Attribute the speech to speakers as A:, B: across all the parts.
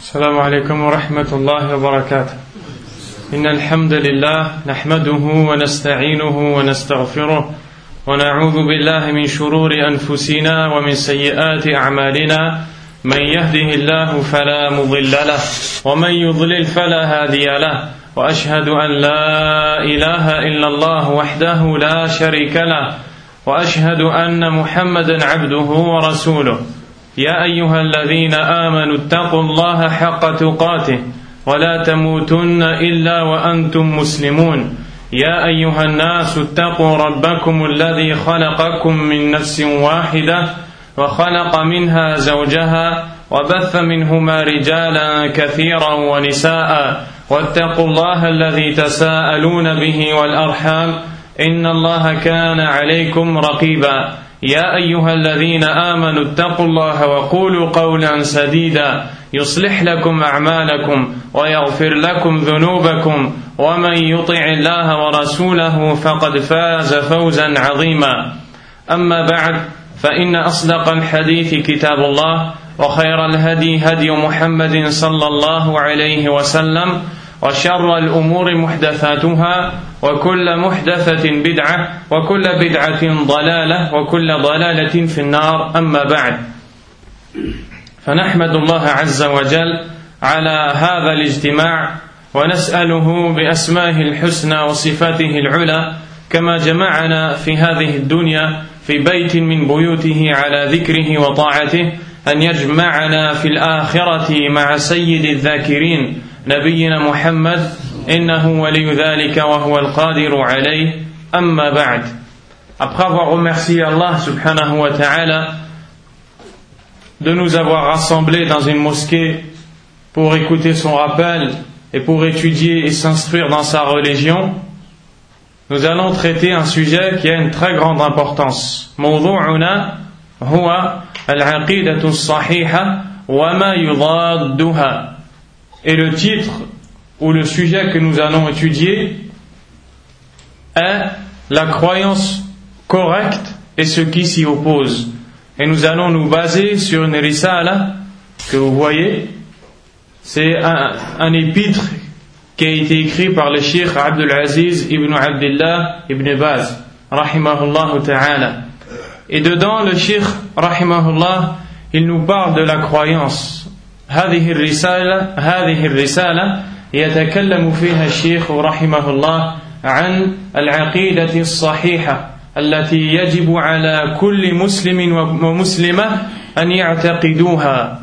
A: السلام عليكم ورحمة الله وبركاته. إن الحمد لله نحمده ونستعينه ونستغفره ونعوذ بالله من شرور أنفسنا ومن سيئات أعمالنا من يهده الله فلا مضل له ومن يضلل فلا هادي له وأشهد أن لا إله إلا الله وحده لا شريك له وأشهد أن محمدا عبده ورسوله. يا أيها الذين آمنوا اتقوا الله حق تقاته ولا تموتن إلا وأنتم مسلمون. يا أيها الناس اتقوا ربكم الذي خلقكم من نفس واحدة وخلق منها زوجها وبث منهما رجالا كثيرا ونساء واتقوا الله الذي تساءلون به والأرحام إن الله كان عليكم رقيبا. يا أيها الذين آمنوا اتقوا الله وقولوا قولا سديدا يصلح لكم أعمالكم ويغفر لكم ذنوبكم ومن يطع الله ورسوله فقد فاز فوزا عظيما. أما بعد فإن أصدق الحديث كتاب الله وخير الهدي هدي محمد صلى الله عليه وسلم وشر الأمور محدثاتها وكل محدثة بدعة وكل بدعة ضلالة وكل ضلالة في النار. أما بعد فنحمد الله عز وجل على هذا الاجتماع ونسأله بأسمائه الحسنى وصفاته العلى كما جمعنا في هذه الدنيا في بيت من بيوته على ذكره وطاعته أن يجمعنا في الآخرة مع سيد الذاكرين نبينا محمد إنه ولي ذلك وهو القادر عليه. أما بعد. Après avoir remercié Allah subhanahu wa ta'ala de nous avoir rassemblés dans une mosquée pour écouter son rappel et pour étudier et s'instruire dans sa religion, nous allons traiter un sujet qui a une très grande importance. موضوعنا هو العقيدة الصحيحة وما يضادها. Et le titre ou le sujet que nous allons étudier est la croyance correcte et ce qui s'y oppose. Et nous allons nous baser sur une risala que vous voyez. C'est un épître qui a été écrit par le Cheikh Abdul Aziz ibn Abdullah ibn Baz rahimahullah ta'ala. Et dedans le Cheikh rahimahullah il nous parle de la croyance. هذه الرسالة يتكلم فيها الشيخ رحمه الله عن العقيدة الصحيحة التي يجب على كل مسلم ومسلمة أن يعتقدوها.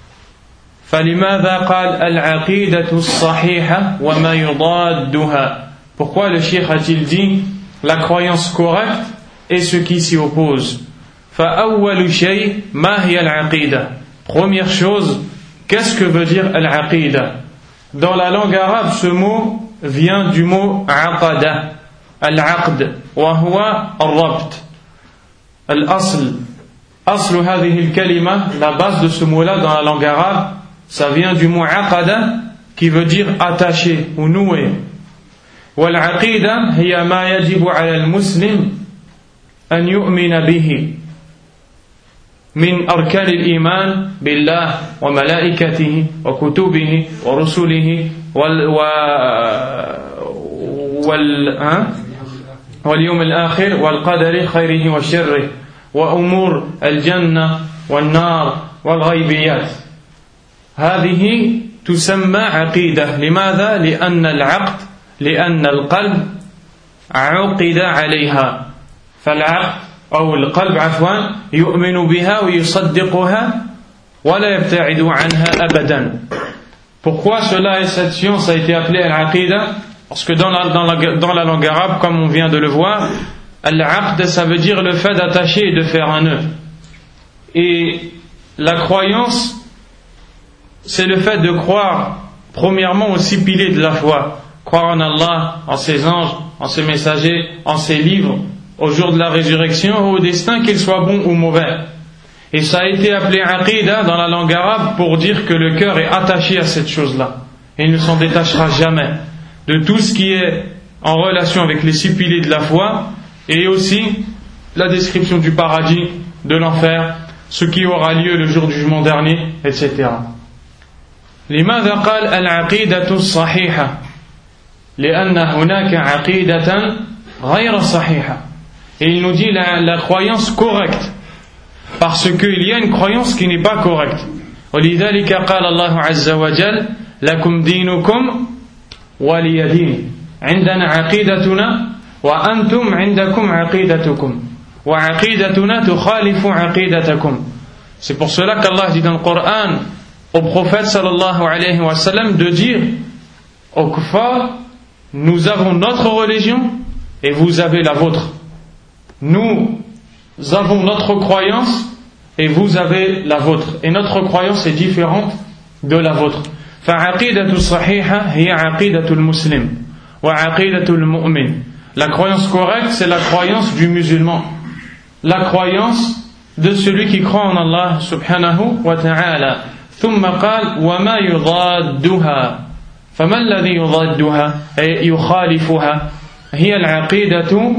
A: فلماذا قال العقيدة الصحيحة وما يضادها? Pourquoi le Cheikh a-t-il dit la croyance correcte et ce qui s'y oppose? فأول شيء ما هي العقيدة? Première chose, qu'est-ce que veut dire al-aqida? Dans la langue arabe, ce mot vient du mot aqada, al-aqd, wa huwa al-rabt. Al-asl, aslu hadhihi al-kalima, la base de ce mot-là dans la langue arabe, ça vient du mot aqada, qui veut dire attaché ou noué. Wal-aqida hiya ma yajibu ala al-muslim an yu'mina bihi من أركان الإيمان بالله وملائكته وكتبه ورسله واليوم الآخر والقدر خيره وشره وأمور الجنة والنار والغيبيات. هذه تسمى عقيدة. لماذا؟ لأن القلب عقد عليها. فالعقد أو القلب عفوا يؤمن بها ويصدقها ولا يبتعد عنها أبدا. Pourquoi cela et cette science a été appelée al-aqida? Parce que dans la langue arabe, comme on vient de le voir, al-aqd ça veut dire le fait d'attacher et de faire un nœud. Et la croyance, c'est le fait de croire premièrement aux 6 piliers de la foi. Croire en Allah, en ses anges, en ses messagers, en ses livres, au jour de la résurrection, au destin, qu'il soit bon ou mauvais. Et ça a été appelé aqida dans la langue arabe pour dire que le cœur est attaché à cette chose-là. Et il ne s'en détachera jamais de tout ce qui est en relation avec les 6 piliers de la foi, et aussi la description du paradis, de l'enfer, ce qui aura lieu le jour du jugement dernier, etc. لماذا قال العقيدة الصحيحة؟ لأن هناك عقيدة غير صحيحة. Et il nous dit la croyance correcte, parce qu'il y a une croyance qui n'est pas correcte. ولذلك قال الله عز وجل لكم دينكم ولي دين. عندنا عقيدتنا وأنتم عندكم عقيدتكم وعقيدتنا تخالف عقيدتكم. C'est pour cela qu'Allah dit dans le Coran au prophète sallallahu alayhi wa sallam de dire aux kuffar, nous avons notre religion et vous avez la vôtre. Nous avons notre croyance et vous avez la vôtre. Et notre croyance est différente de la vôtre. فعقيدة الصحيحة هي عقيدة المسلم وعقيدة المؤمن. La croyance correcte, c'est la croyance du musulman, la croyance de celui qui croit en Allah subhanahu wa ta'ala. ثم قال وما يضادها. فما الذي يضادها أي يخالفها؟ هي العقيدة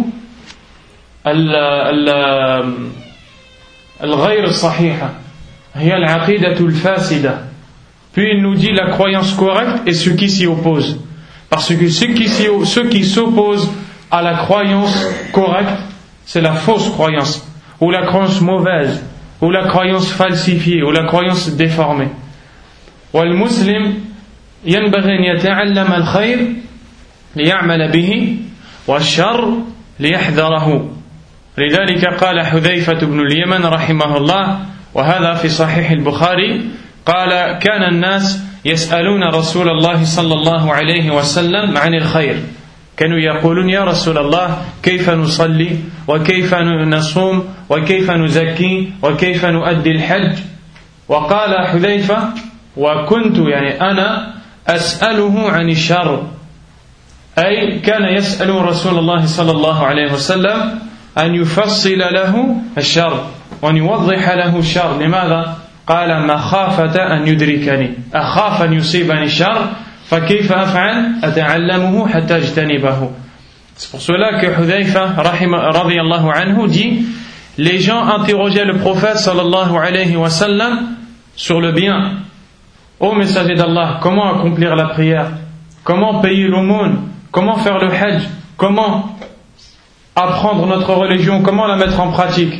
A: الغير الصحيحة، هي العقيدة الفاسدة. Puis il nous dit la croyance correcte et ce qui s'y oppose. Parce que ceux qui s'opposent à la croyance correcte, c'est la fausse croyance, ou la croyance mauvaise, ou la croyance falsifiée, ou la croyance déformée. والمسلم ينبغي أن يتعلم الخير ليعمل به والشر ليحذره. لذلك قال حذيفة بن اليمن رحمه الله، وهذا في صحيح البخاري، قال كان الناس يسألون رسول الله صلى الله عليه وسلم عن الخير، كانوا يقولون يا رسول الله كيف نصلي وكيف نصوم وكيف نزكي وكيف نؤدي الحج. وقال حذيفة وكنت يعني أنا أسأله عن الشر، أي كان يسأل رسول الله صلى الله عليه وسلم أن يفصل له الشر وأن يوضح له الشر. لماذا؟ قال مخافة أن يدركني، أخاف أن يصيبني الشر فكيف أفعل؟ أتعلمه حتى أجتنبه. C'est pour cela que Hudhayfa radiyallahu anhu dit, les gens interrogeaient le prophète sallallahu alayhi wa sallam sur le bien. Ô messager d'Allah, comment accomplir la prière? Comment payer l'aumône? Comment faire le hajj? Comment apprendre notre religion? Comment la mettre en pratique?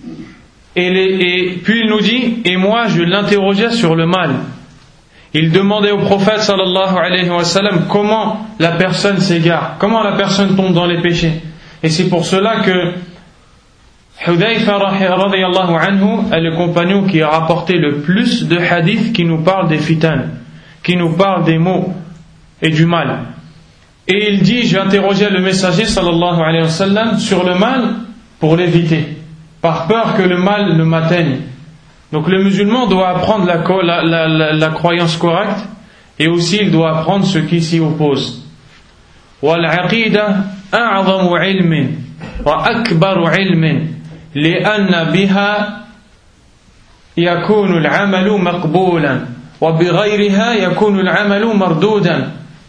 A: Et puis il nous dit, et moi je l'interrogeais sur le mal. Il demandait au prophète sallallahu alayhi wa sallam comment la personne s'égare, comment la personne tombe dans les péchés. Et c'est pour cela que Hudhayfa radiyallahu anhu est le compagnon qui a rapporté le plus de hadiths qui nous parlent des fitan, qui nous parlent des maux et du mal. Et il dit, j'ai interrogé le messager sallallahu alayhi wa sallam sur le mal pour l'éviter, par peur que le mal ne m'atteigne. Donc le musulman doit apprendre la croyance correcte et aussi il doit apprendre ce qui s'y oppose. وَالْعَقِيدَةُ أَعْظَمُ عِلْمٍ وَأَكْبَرُ عِلْمٍ لأن بها يكون العمل مقبولا وبغيرها يكون العمل مردودا.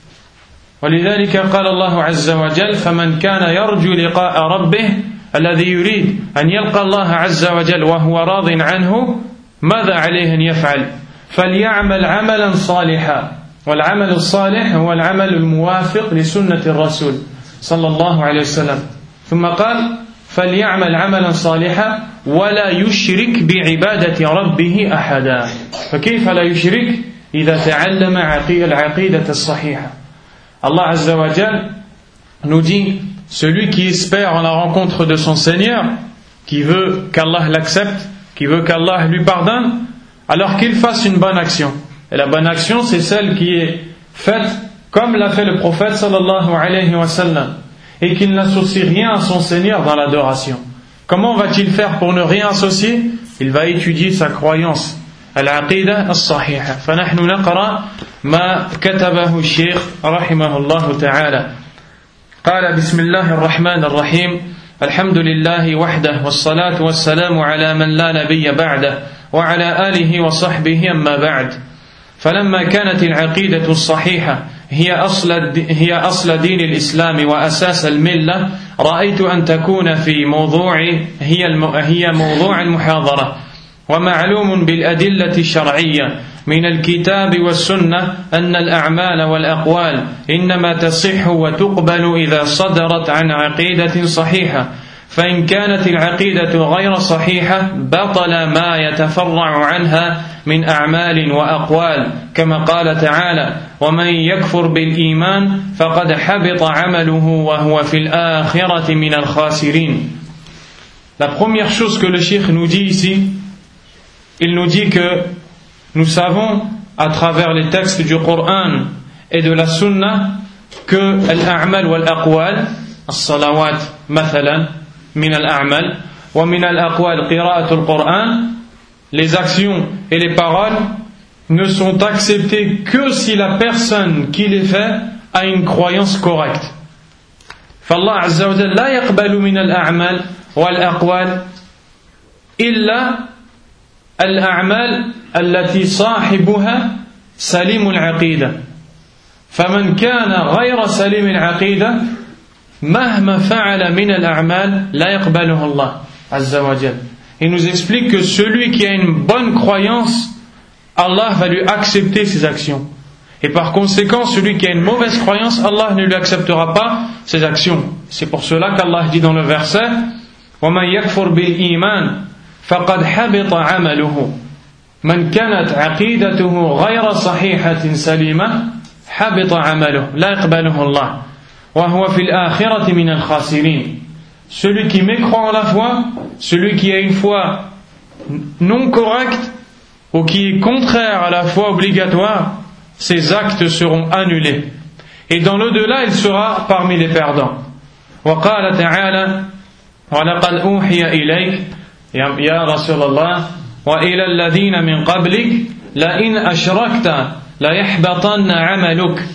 A: ولذلك قال الله عز وجل فمن كان يرجو لقاء ربه الذي يريد أن يلقى الله عز وجل وهو راض عنه ماذا عليه أن يفعل؟ فليعمل عملا صالحا. والعمل الصالح هو العمل الموافق لسنة الرسول صلى الله عليه وسلم. ثم قال فليعمل عملا صالحا ولا يشرك بعبادة ربه أحدا. فكيف لا يشرك إذا تعلم العقيدة الصحيحة؟ Allah Azza wa Jal nous dit, celui qui espère en la rencontre de son Seigneur, qui veut qu'Allah l'accepte, qui veut qu'Allah lui pardonne, alors qu'il fasse une bonne action. Et la bonne action, c'est celle qui est faite comme l'a fait le prophète sallallahu alayhi wa sallam, et qu'il n'associe rien à son Seigneur dans l'adoration. Comment va-t-il faire pour ne rien associer? Il va étudier sa croyance, al-aqida as-sahiha. فنحن نقرأ ما كتبه الشيخ رحمه الله تعالى. قال بسم الله الرحمن الرحيم الحمد لله وحده والصلاة والسلام على من لا نبي بعده وعلى آله وصحبه أما بعد. فلما كانت العقيدة الصحيحة هي أصل دين الإسلام وأساس الملة رأيت أن تكون في موضوع هي موضوع المحاضرة. ومعلوم بالأدلة الشرعية من الكتاب والسنة أن الأعمال والأقوال إنما تصح وتقبل إذا صدرت عن عقيدة صحيحة فإن كانت العقيدة غير صحيحة بطل ما يتفرع عنها من أعمال وأقوال كما قال تعالى ومن يكفر بالإيمان فقد حبط عمله وهو في الآخرة من الخاسرين. La première chose que le cheikh nous dit ici, il nous dit que nous savons à travers les textes du Coran et de la Sunna que al-a'mal wal-aqwal, as-salawat mathalan, min al-a'mal, wa min al-aqwal qira'atul Qur'an, les actions et les paroles ne sont acceptées que si la personne qui les fait a une croyance correcte. فالله عز وجل لا يقبل من الأعمال والأقوال إلا الأعمال التي صاحبها سليم العقيدة فمن كان غير سليم العقيدة مهما فعل من الأعمال لا يقبله الله عز وجل. Il nous explique que celui qui a une bonne croyance, Allah va lui accepter ses actions. Et par conséquent, celui qui a une mauvaise croyance, Allah ne lui acceptera pas ses actions. C'est pour cela qu'Allah dit dans le verset وَمَنْ يَكْفُرْ بِالْإِيمَانِ فَقَدْ حَبِطَ عَمَلُهُ مَنْ كَانَتْ عَقِيدَتُهُ غَيْرَ صَحِيحَةٍ سَلِيمَةٍ حَبِطَ عَمَلُهُ لَا يَقْبَلُهُ اللَّهُ وَهُوَ فِي الْآخِرَةِ مِنَ الْخَاسِرِينَ. Celui qui mécroit en la foi, celui qui a une foi non correcte ou qui est contraire à la foi obligatoire, ses actes seront annulés. Et dans l'au-delà, il sera parmi les perdants. وقال تعالى ولقد أوحي إليك يا رسول الله وإلى الذين من قبلك لئن أشركت ليحبطن عملك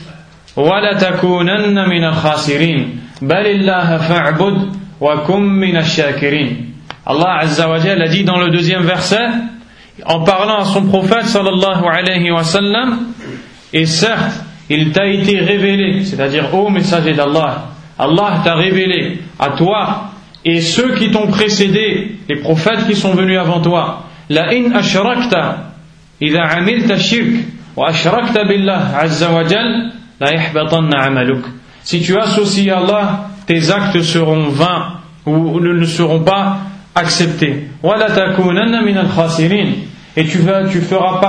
A: ولتكونن من الخاسرين بل الله فاعبد وكن من الشاكرين. Allah Azza wa Jalla a dit dans le deuxième verset, en parlant à son prophète sallallahu alayhi wa sallam, et certes, il t'a été révélé, c'est-à-dire ô messager d'Allah, Allah t'a révélé à toi et ceux qui t'ont précédé, les prophètes qui sont venus avant toi, la in ashrakta idha amilta shirk wa ashrakta billah azza wa jal la yahbatanna amaluk. Si tu associes à Allah, tes actes seront vains ou ne seront pas acceptés. Wa la takunanna min al-khasirin. Et tu feras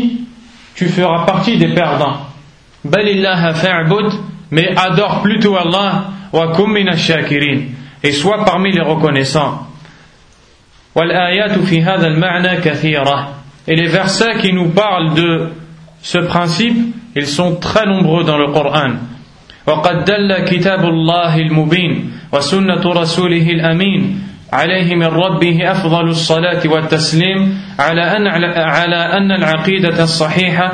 A: partie des perdants. Balillaha fa'bud, mais adore plutôt Allah, wa kum min ash-shakirin, et sois parmi les reconnaissants. Wal ayatu fi hadha al-ma'na kathira. Et les versets qui nous parlent de ce principe, ils sont très nombreux dans le Coran. وقد دل كتاب الله المبين وسنة رسوله الأمين عليه من ربه أفضل الصلاة والتسليم على أن العقيدة الصحيحة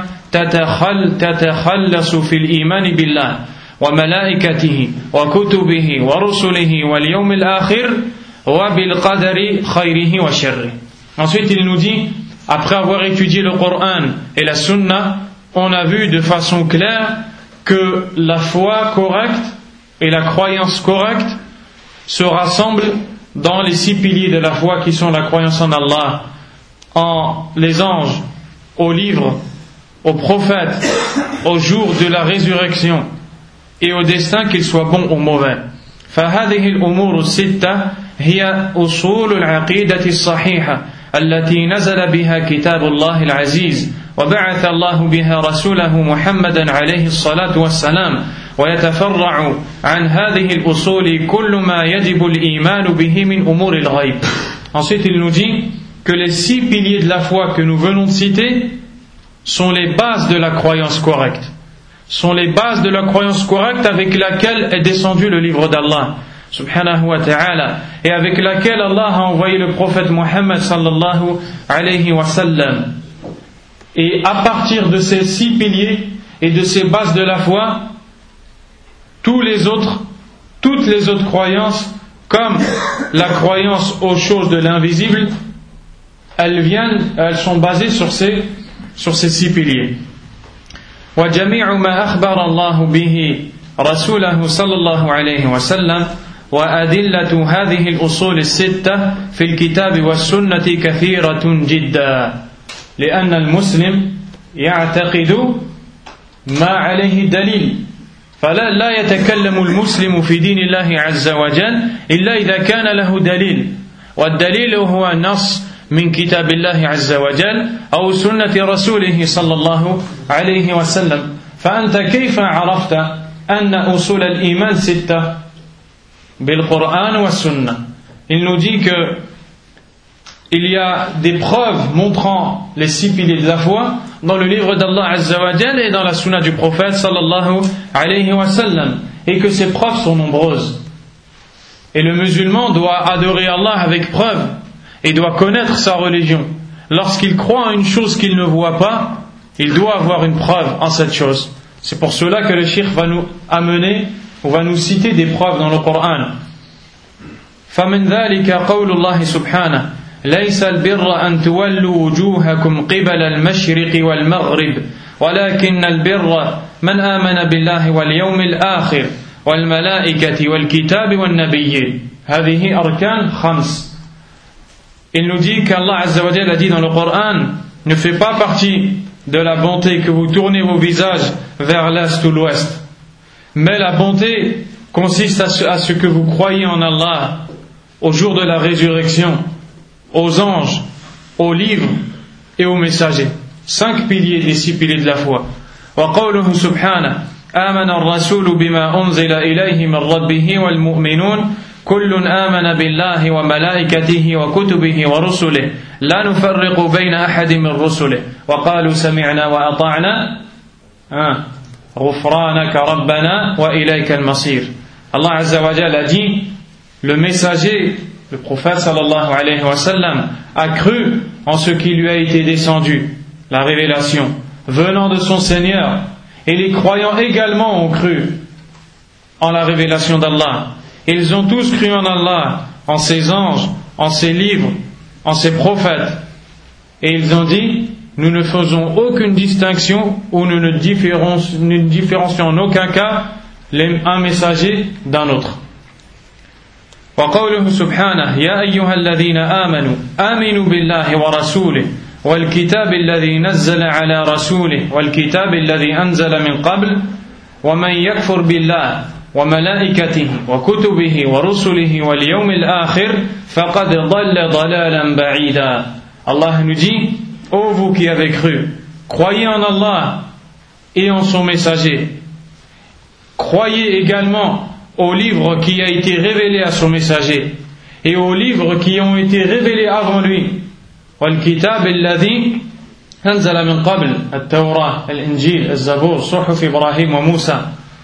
A: تتخلص في الإيمان بالله وملائكته وكتبه ورسله واليوم الآخر وبالقدر خيره وشره. Ensuite il nous dit, après avoir étudié le Coran et la Sunna, on a vu de façon claire que la foi correcte et la croyance correcte se rassemblent dans les 6 piliers de la foi qui sont la croyance en Allah, en les anges, aux livres, aux prophètes, au jour de la résurrection et au destin, qu'ils soient bons ou mauvais. فهذه الأمور الستة هي أصول العقيدة الصحيحة التي نزل بها كتاب الله العزيز وبعث الله بها رسوله محمدا عليه الصلاة والسلام ويتفرع عن هذه الأصول كل ما يجب الإيمان به من أمور الغيب. Ensuite il nous dit que les 6 piliers de la foi que nous venons de citer sont les bases de la croyance correcte, sont les bases de la croyance correcte avec laquelle est descendu le livre d'Allah subhanahu wa ta'ala et avec laquelle Allah a envoyé le prophète Muhammad sallallahu alayhi wa sallam. Et à partir de ces 6 piliers et de ces bases de la foi, toutes les autres croyances, comme la croyance aux choses de l'invisible, elles sont basées sur ces 6 piliers. وجميع ما أخبر الله به رسوله صلى الله عليه وسلم وأدلة هذه الأصول الستة في الكتاب والسنة كثيرة جدا لأن المسلم يعتقد ما عليه دليل فلا يتكلم المسلم في دين الله عز وجل إلا إذا كان له دليل والدليل هو نص من كتاب الله عز وجل أو سنة رسوله صلى الله عليه وسلم فأنت كيف عرفت أن أصول الإيمان 6 بالقرآن والسنة. Il nous dit que il y a des preuves montrant les 6 piliers de la foi dans le livre d'Allah Azza wa Jal et dans la sunna du prophète sallallahu alayhi wa sallam, et que ces preuves sont nombreuses. Et le musulman doit adorer Allah avec preuve et doit connaître sa religion. Lorsqu'il croit en une chose qu'il ne voit pas, il doit avoir une preuve en cette chose. C'est pour cela que le cheikh va nous amener ou va nous citer des preuves dans le Coran. فمن ذلك قول الله سبحانه ليس البر أن تولوا وجوهكم قبل المشرق والمغرب ولكن البر من آمن بالله واليوم الآخر والملائكة والكتاب والنبيين هذه أركان 5. Il nous dit qu'Allah Azza wa Jalla a dit dans le Coran ne fait pas partie de la bonté que vous tournez vos visages vers l'est ou l'ouest, mais la bonté consiste à ce que vous croyez en Allah, au jour de la résurrection, aux anges, aux livres et aux messagers. 5 piliers des 6 piliers de la foi. وقوله سبحانه آمن الرسول بما أنزل إليه من ربه والمؤمنون كل آمن بالله وملائكته وكتبه ورسله لا نفرق بين أحد من رسله وقالوا سمعنا وأطعنا غفرانك ربنا وإليك المصير. Allah Azza wa Jalla a dit le messager, le prophète sallallahu alayhi wa sallam, a cru en ce qui lui a été descendu, la révélation, venant de son Seigneur, et les croyants également ont cru en la révélation d'Allah. Ils ont tous cru en Allah, en ses anges, en ses livres, en ses prophètes. Et ils ont dit, nous ne faisons aucune distinction ou nous ne différencions en aucun cas un messager d'un autre. وقوله سبحانه يا أيها الذين آمنوا آمنوا بالله ورسوله والكتاب الذي نزل على رسوله والكتاب الذي أنزل من قبل ومن يكفر بالله وملائكته وكتبه ورسله واليوم الآخر فقد ضل ضلالا بعيدا. Allah nous dit, ô vous qui avez cru, croyez en Allah et en son messager. Croyez également au livre qui a été révélé à son messager et aux livres qui ont été révélés avant lui. والكتاب الذي أنزل من قبل التوراة الإنجيل الزبور صحف إبراهيم وموسى.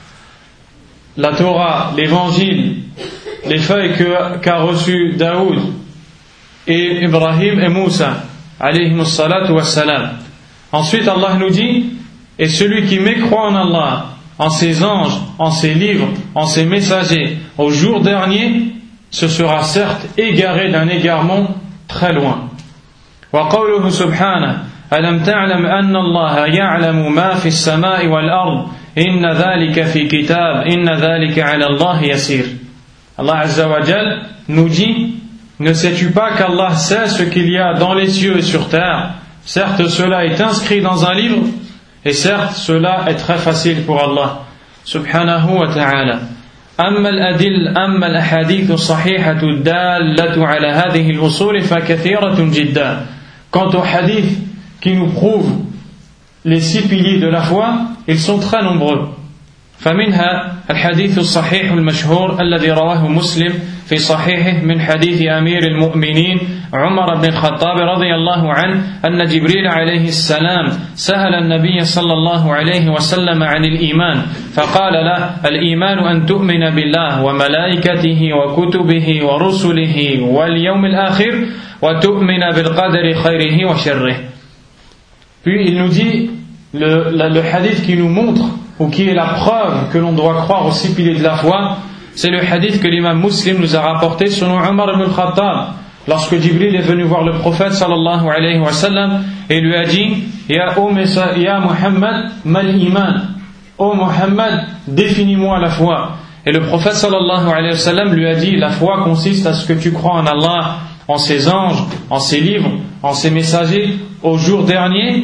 A: La Torah, l'évangile, les feuilles qu'a reçues Daoud et Ibrahim et Moussa alayhimus salatu wassalam. Ensuite Allah nous dit, et celui qui mécroit en Allah, en ses anges, en ses livres, en ses messagers, au jour dernier, ce sera certes égaré d'un égarement très loin. وقوله سبحانه ألم تعلم أن الله يعلم ما في السماء والأرض إن ذلك في كتاب إن ذلك على الله يسير. Allah Azza wa Jal nous dit, ne sais-tu pas qu'Allah sait ce qu'il y a dans les cieux et sur terre? Certes cela est inscrit dans un livre, et certes cela est très facile pour Allah subhanahu wa ta'ala. أما الأحاديث الصحيحة الدالة على هذه الأصول فكثيرة جدا. Quant aux hadiths qui nous prouvent les 6 piliers de la foi, ils sont très nombreux. فمنها الحديث الصحيح المشهور الذي رواه مسلم في صحيحه من حديث أمير المؤمنين عمر بن الخطاب رضي الله عنه أن جبريل عليه السلام سأل النبي صلى الله عليه وسلم عن الإيمان فقال له الإيمان أن تؤمن بالله وملائكته وكتبه ورسله واليوم الآخر وتؤمن بالقدر خيره وشره. Puis il nous dit le hadith qui nous montre ou qui est la preuve que l'on doit croire aux 6 piliers de la foi, c'est le hadith que l'imam Muslim nous a rapporté selon Omar ibn al-Khattab, lorsque Jibril est venu voir le prophète sallallahu alayhi wa sallam et lui a dit Ya Muhammad mal iman, ô Muhammad, définis-moi la foi. Et le prophète sallallahu alayhi wa sallam lui a dit, la foi consiste à ce que tu crois en Allah, en ses anges, en ses livres, en ses messagers, au jour dernier,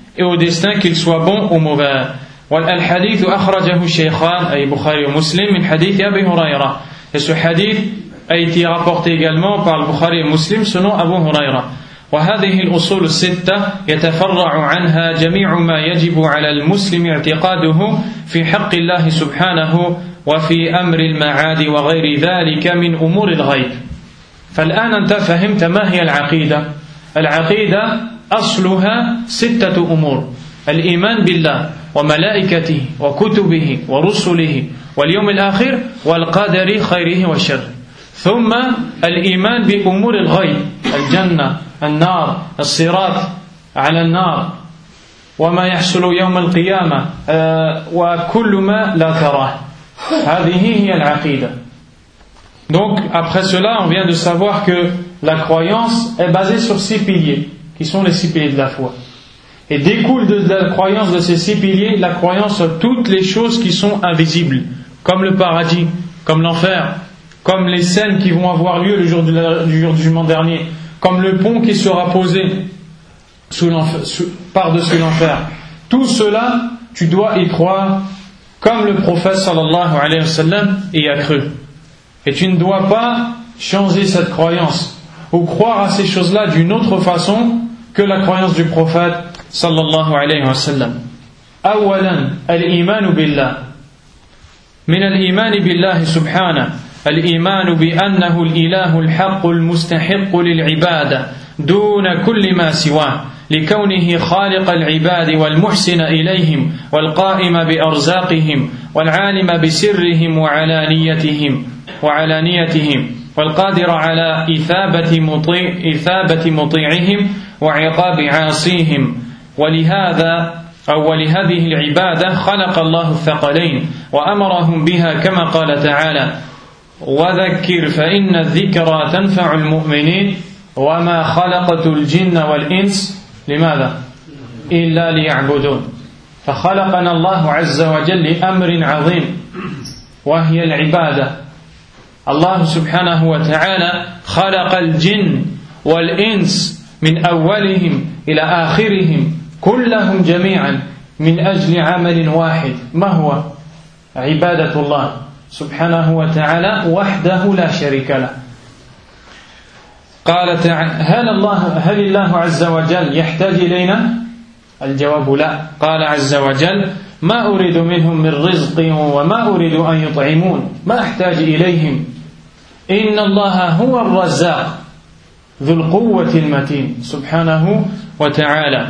A: et au destin, qu'il soit bon ou mauvais. والحديث أخرجه الشيخان أي بخاري ومسلم من حديث أبي هريرة. Et ce hadith a été rapporté également par le Bukhari et Muslim selon Abu Huraira. وهذه الأصول الستة يتفرع عنها جميع ما يجب على المسلم اعتقاده في حق الله سبحانه وفي أمر المعاد وغير ذلك من أمور الغيب. فالآن أنت فهمت ما هي العقيدة. العقيدة أصلها 6 أمور: الإيمان بالله وملائكته وكتبه ورسله واليوم الآخر والقدر خيره وشره، ثم الإيمان بأمور الغيب: الجنة، النار، الصراط على النار، وما يحصل يوم القيامة، وكل ما لا تراه. هذه هي العقيدة. Donc après cela, on vient de savoir que la croyance est basée sur 6 piliers, qui sont les 6 piliers de la foi. Et découle de la croyance de ces 6 piliers la croyance sur toutes les choses qui sont invisibles, comme le paradis, comme l'enfer, comme les scènes qui vont avoir lieu le jour du jugement dernier, comme le pont qui sera posé par-dessus l'enfer. Tout cela, tu dois y croire comme le prophète sallallahu alayhi wa sallam y a cru. Et tu ne dois pas changer cette croyance ou croire à ces choses-là d'une autre façon que la croyance du prophète sallallahu alayhi wa sallam. أولا الإيمان بالله. من الإيمان بالله سبحانه الإيمان بأنه الإله الحق المستحق للعبادة دون كل ما سواه، لكونه خالق العباد والمحسن إليهم والقائم بأرزاقهم والعالم بسرهم وعلانيتهم والقادر على إثابة مطيعهم وعقاب عاصيهم. ولهذه العبادة خلق الله الثقلين وأمرهم بها كما قال تعالى: وذكر فإن الذكرى تنفع المؤمنين وما خلقت الجن والإنس لماذا؟ إلا ليعبدون. فخلقنا الله عز وجل لأمر عظيم وهي العبادة. الله سبحانه وتعالى خلق الجن والإنس من أولهم إلى آخرهم كلهم جميعا من أجل عمل واحد، ما هو؟ عبادة الله سبحانه وتعالى وحده لا شريك له. قال تعالى: هل الله عز وجل يحتاج إلينا؟ الجواب لا. قال عز وجل: ما أريد منهم من رزق وما أريد أن يطعمون، ما أحتاج إليهم، إن الله هو الرزاق ذو القوة المتين سبحانه وتعالى.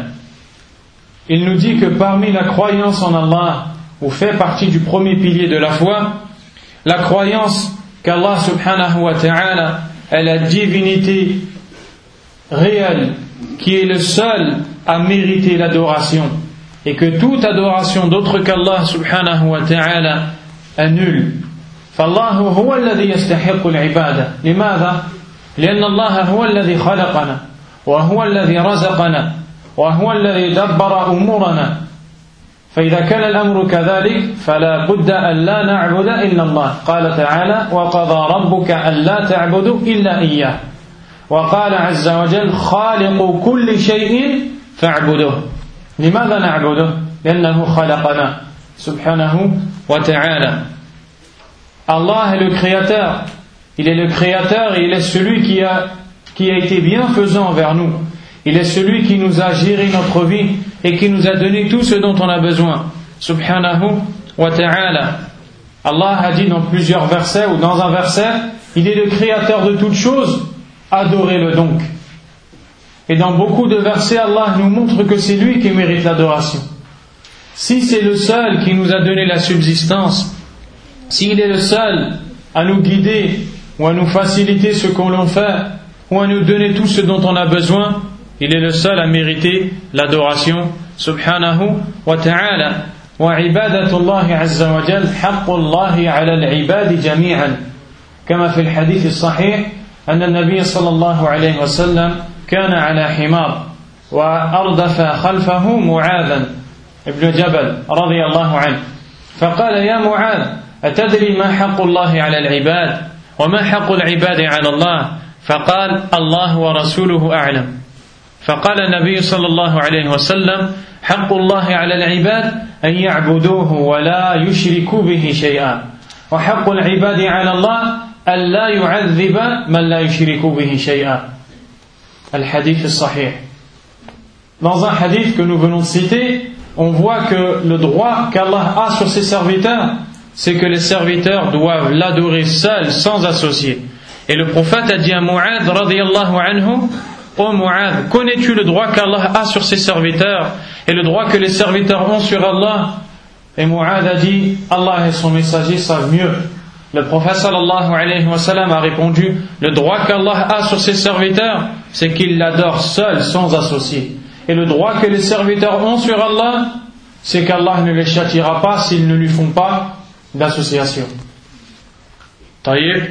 A: Il nous dit que parmi la croyance en Allah, ou fait partie du premier pilier de la foi, la croyance qu'Allah subhanahu wa ta'ala est la divinité réelle, qui est le seul à mériter l'adoration, et que toute adoration d'autre qu'Allah subhanahu wa ta'ala est nulle. فالله هو الذي يستحق العبادة. لماذا؟ لأن الله هو الذي خلقنا وهو الذي رزقنا وهو الذي دبر أمورنا. فإذا كان الأمر كذلك فلا بد أن لا نعبد إلا الله. قال تعالى: وقضى ربك ألا تعبدوا إلا إياه. وقال عز وجل: خالق كل شيء فاعبدوه. لماذا نعبده؟ لأنه خلقنا سبحانه وتعالى. Allah est le créateur. Il est le créateur et il est celui qui a été bienfaisant envers nous. Il est celui qui nous a géré notre vie et qui nous a donné tout ce dont on a besoin. Subhanahu wa ta'ala. Allah a dit dans plusieurs versets, ou dans un verset, il est le créateur de toutes choses, adorez-le donc. Et dans beaucoup de versets, Allah nous montre que c'est lui qui mérite l'adoration. Si c'est le seul qui nous a donné la subsistance, s'il est le seul à nous guider ou à nous faciliter ce qu'on l'on fait ou à nous donner tout ce dont on a besoin, il est le seul à mériter l'adoration subhanahu wa ta'ala. Wa ibadatullahi azza wa jal haqqullahi ala al-ibadi jami'an kama fi al-hadith as-sahih anna an-nabiy sallallahu alayhi wa sallam kana ala himar wa ardafa khalfahu Mu'adhan ibn Jabal radiyallahu anhu فقال يا معاذ أتدري ما حق الله على العباد وما حق العباد على الله فقال الله ورسوله أعلم فقال النبي صلى الله عليه وسلم حق الله على العباد أن يعبدوه ولا يشركوا به شيئا وحق العباد على الله أن لا يعذب من لا يشرك به شيئا. الحديث الصحيح. Dans un hadith que nous venons de citer, on voit que le droit qu'Allah a sur ses serviteurs, c'est que les serviteurs doivent l'adorer seul, sans associer. Et le prophète a dit à Mu'adh radiyallahu anhu: ô Mu'adh, connais-tu le droit qu'Allah a sur ses serviteurs et le droit que les serviteurs ont sur Allah? Et Mu'adh a dit: Allah et son messager savent mieux. Le prophète sallallahu alayhi wa sallam a répondu: le droit qu'Allah a sur ses serviteurs, c'est qu'il l'adore seul, sans associer. Et le droit que les serviteurs ont sur Allah, c'est qu'Allah ne les châtiera pas s'ils ne lui font pas d'association. طيب.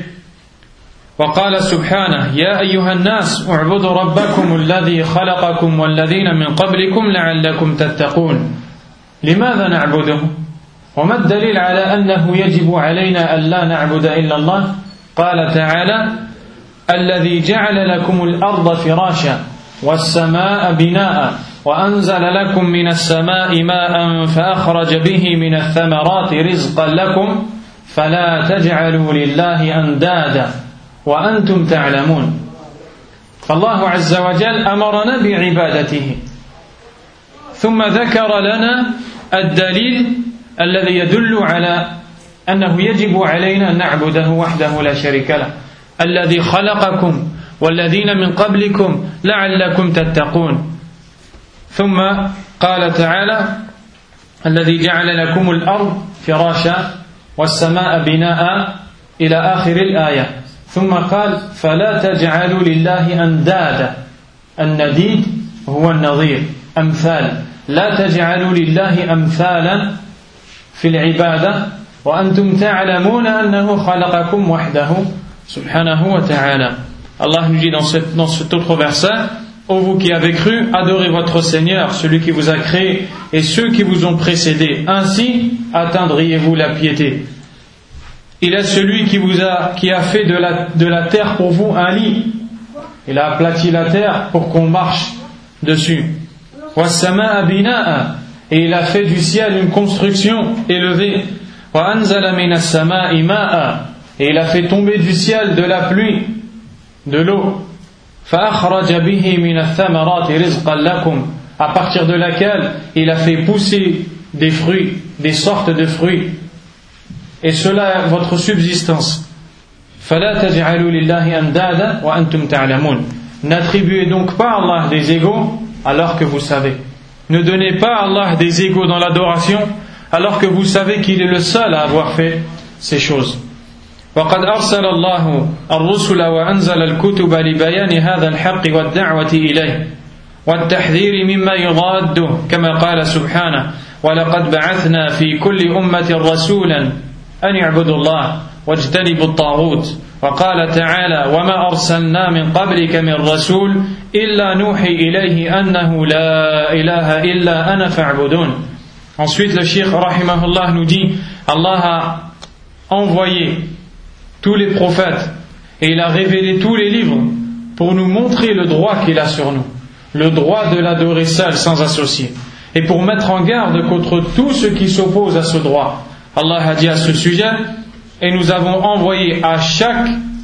A: وقال سبحانه: يا أيها الناس اعبدوا ربكم الذي خلقكم والذين من قبلكم لعلكم تتقون. لماذا نعبده؟ وما الدليل على أنه يجب علينا أن لا نعبد إلا الله؟ قال تعالى: الذي جعل لكم الأرض فراشا والسماء بناء وأنزل لكم من السماء ماء فأخرج به من الثمرات رزقا لكم فلا تجعلوا لله أندادا وأنتم تعلمون. فالله عز وجل أمرنا بعبادته ثم ذكر لنا الدليل الذي يدل على أنه يجب علينا أن نعبده وحده لا شريك له الذي خلقكم والذين من قبلكم لعلكم تتقون. ثم قال تعالى: الذي جعل لكم الأرض فراشا والسماء بناء إلى آخر الآية. ثم قال: فلا تجعلوا لله أندادا. النديد هو النظير، أمثال. لا تجعلوا لله أمثالا في العبادة وأنتم تعلمون أنه خلقكم وحده سبحانه وتعالى. Allah nous dit dans cet autre verset: ô vous qui avez cru, adorez votre Seigneur, celui qui vous a créé et ceux qui vous ont précédés. Ainsi atteindriez-vous la piété. Il est celui qui a fait de la terre pour vous un lit. Il a aplati la terre pour qu'on marche dessus. وَالسَّمَاءَ بِنَاءً. Et il a fait du ciel une construction élevée. وَأَنزَلَ مِنَ السَّمَاءِ مَاءً. Et il a fait tomber du ciel de la pluie, de l'eau. فَأَخْرَجَ بِهِ مِنَ الثَّمَرَاتِ رِزْقًا لَكُمْ. À partir de laquelle il a fait pousser des fruits, des sortes de fruits. Et cela est votre subsistance. فَلَا تَجْعَلُوا لِلَّهِ أَنْدَادًا وَأَنْتُمْ تَعْلَمُونَ. N'attribuez donc pas à Allah des égaux alors que vous savez. Ne donnez pas à Allah des égaux dans l'adoration alors que vous savez qu'il est le seul à avoir fait ces choses. وقد أرسل الله الرسل وأنزل الكتب لبيان هذا الحق والدعوة إليه والتحذير مما يضاده كما قال سبحانه: ولقد بعثنا في كل أمة رسولا أن يعبدوا الله واجتنبوا الطاغوت. وقال تعالى: وما أرسلنا من قبلك من رسول إلا نوحي إليه أنه لا إله إلا أنا فاعبدون. Ensuite le Cheikh rahimahullah nous dit: Allah a envoyé tous les prophètes et il a révélé tous les livres pour nous montrer le droit qu'il a sur nous, le droit de l'adorer seul sans associer, et pour mettre en garde contre tout ce qui s'oppose à ce droit. Allah a dit à ce sujet: et nous avons envoyé à chaque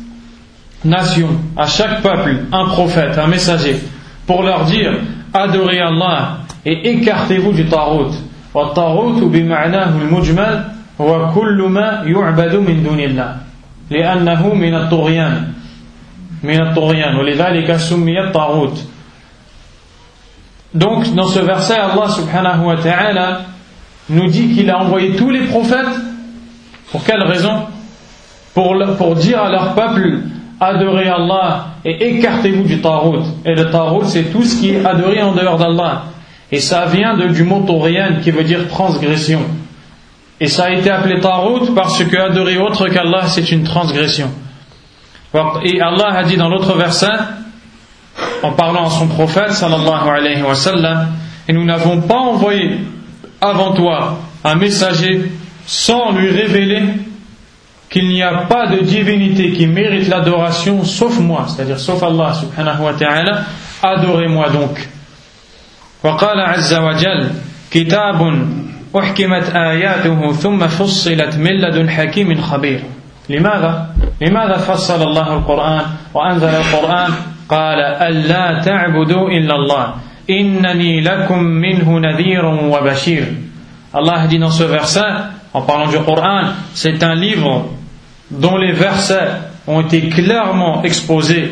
A: nation, à chaque peuple, un prophète, un messager, pour leur dire: adorez Allah et écartez-vous du tarout. Wa tarout bima'nahu al-mujmal huwa kullu ma yu'badu min dunillah li'annahu min at-tughyan wa lidhalika summiya at-tarout. Donc dans ce verset, Allah subhanahu wa ta'ala nous dit qu'il a envoyé tous les prophètes. Pour quelle raison? Pour dire à leur peuple: adorez Allah et écartez-vous du tarout. Et le tarout, c'est tout ce qui est adoré en dehors d'Allah. Et ça vient du mot turiyan qui veut dire transgression. Et ça a été appelé tarout parce que adorer autre qu'Allah, c'est une transgression. Et Allah a dit dans l'autre verset, en parlant à son prophète sallallahu alayhi wa sallam: et nous n'avons pas envoyé avant toi un messager sans lui révéler qu'il n'y a pas de divinité qui mérite l'adoration sauf moi, c'est-à-dire sauf Allah subhanahu wa ta'ala, adorez-moi donc. وقال عز وجل كتاب أحكمت آياته ثم فصلت من لدن حكيم خبير. لماذا فصل الله القرآن وأنزل القرآن؟ قال ألا تعبدوا إلا الله إنني لكم منه نذير وبشير. Allah dit dans ce verset, en parlant du Coran, c'est un livre dont les versets ont été clairement exposés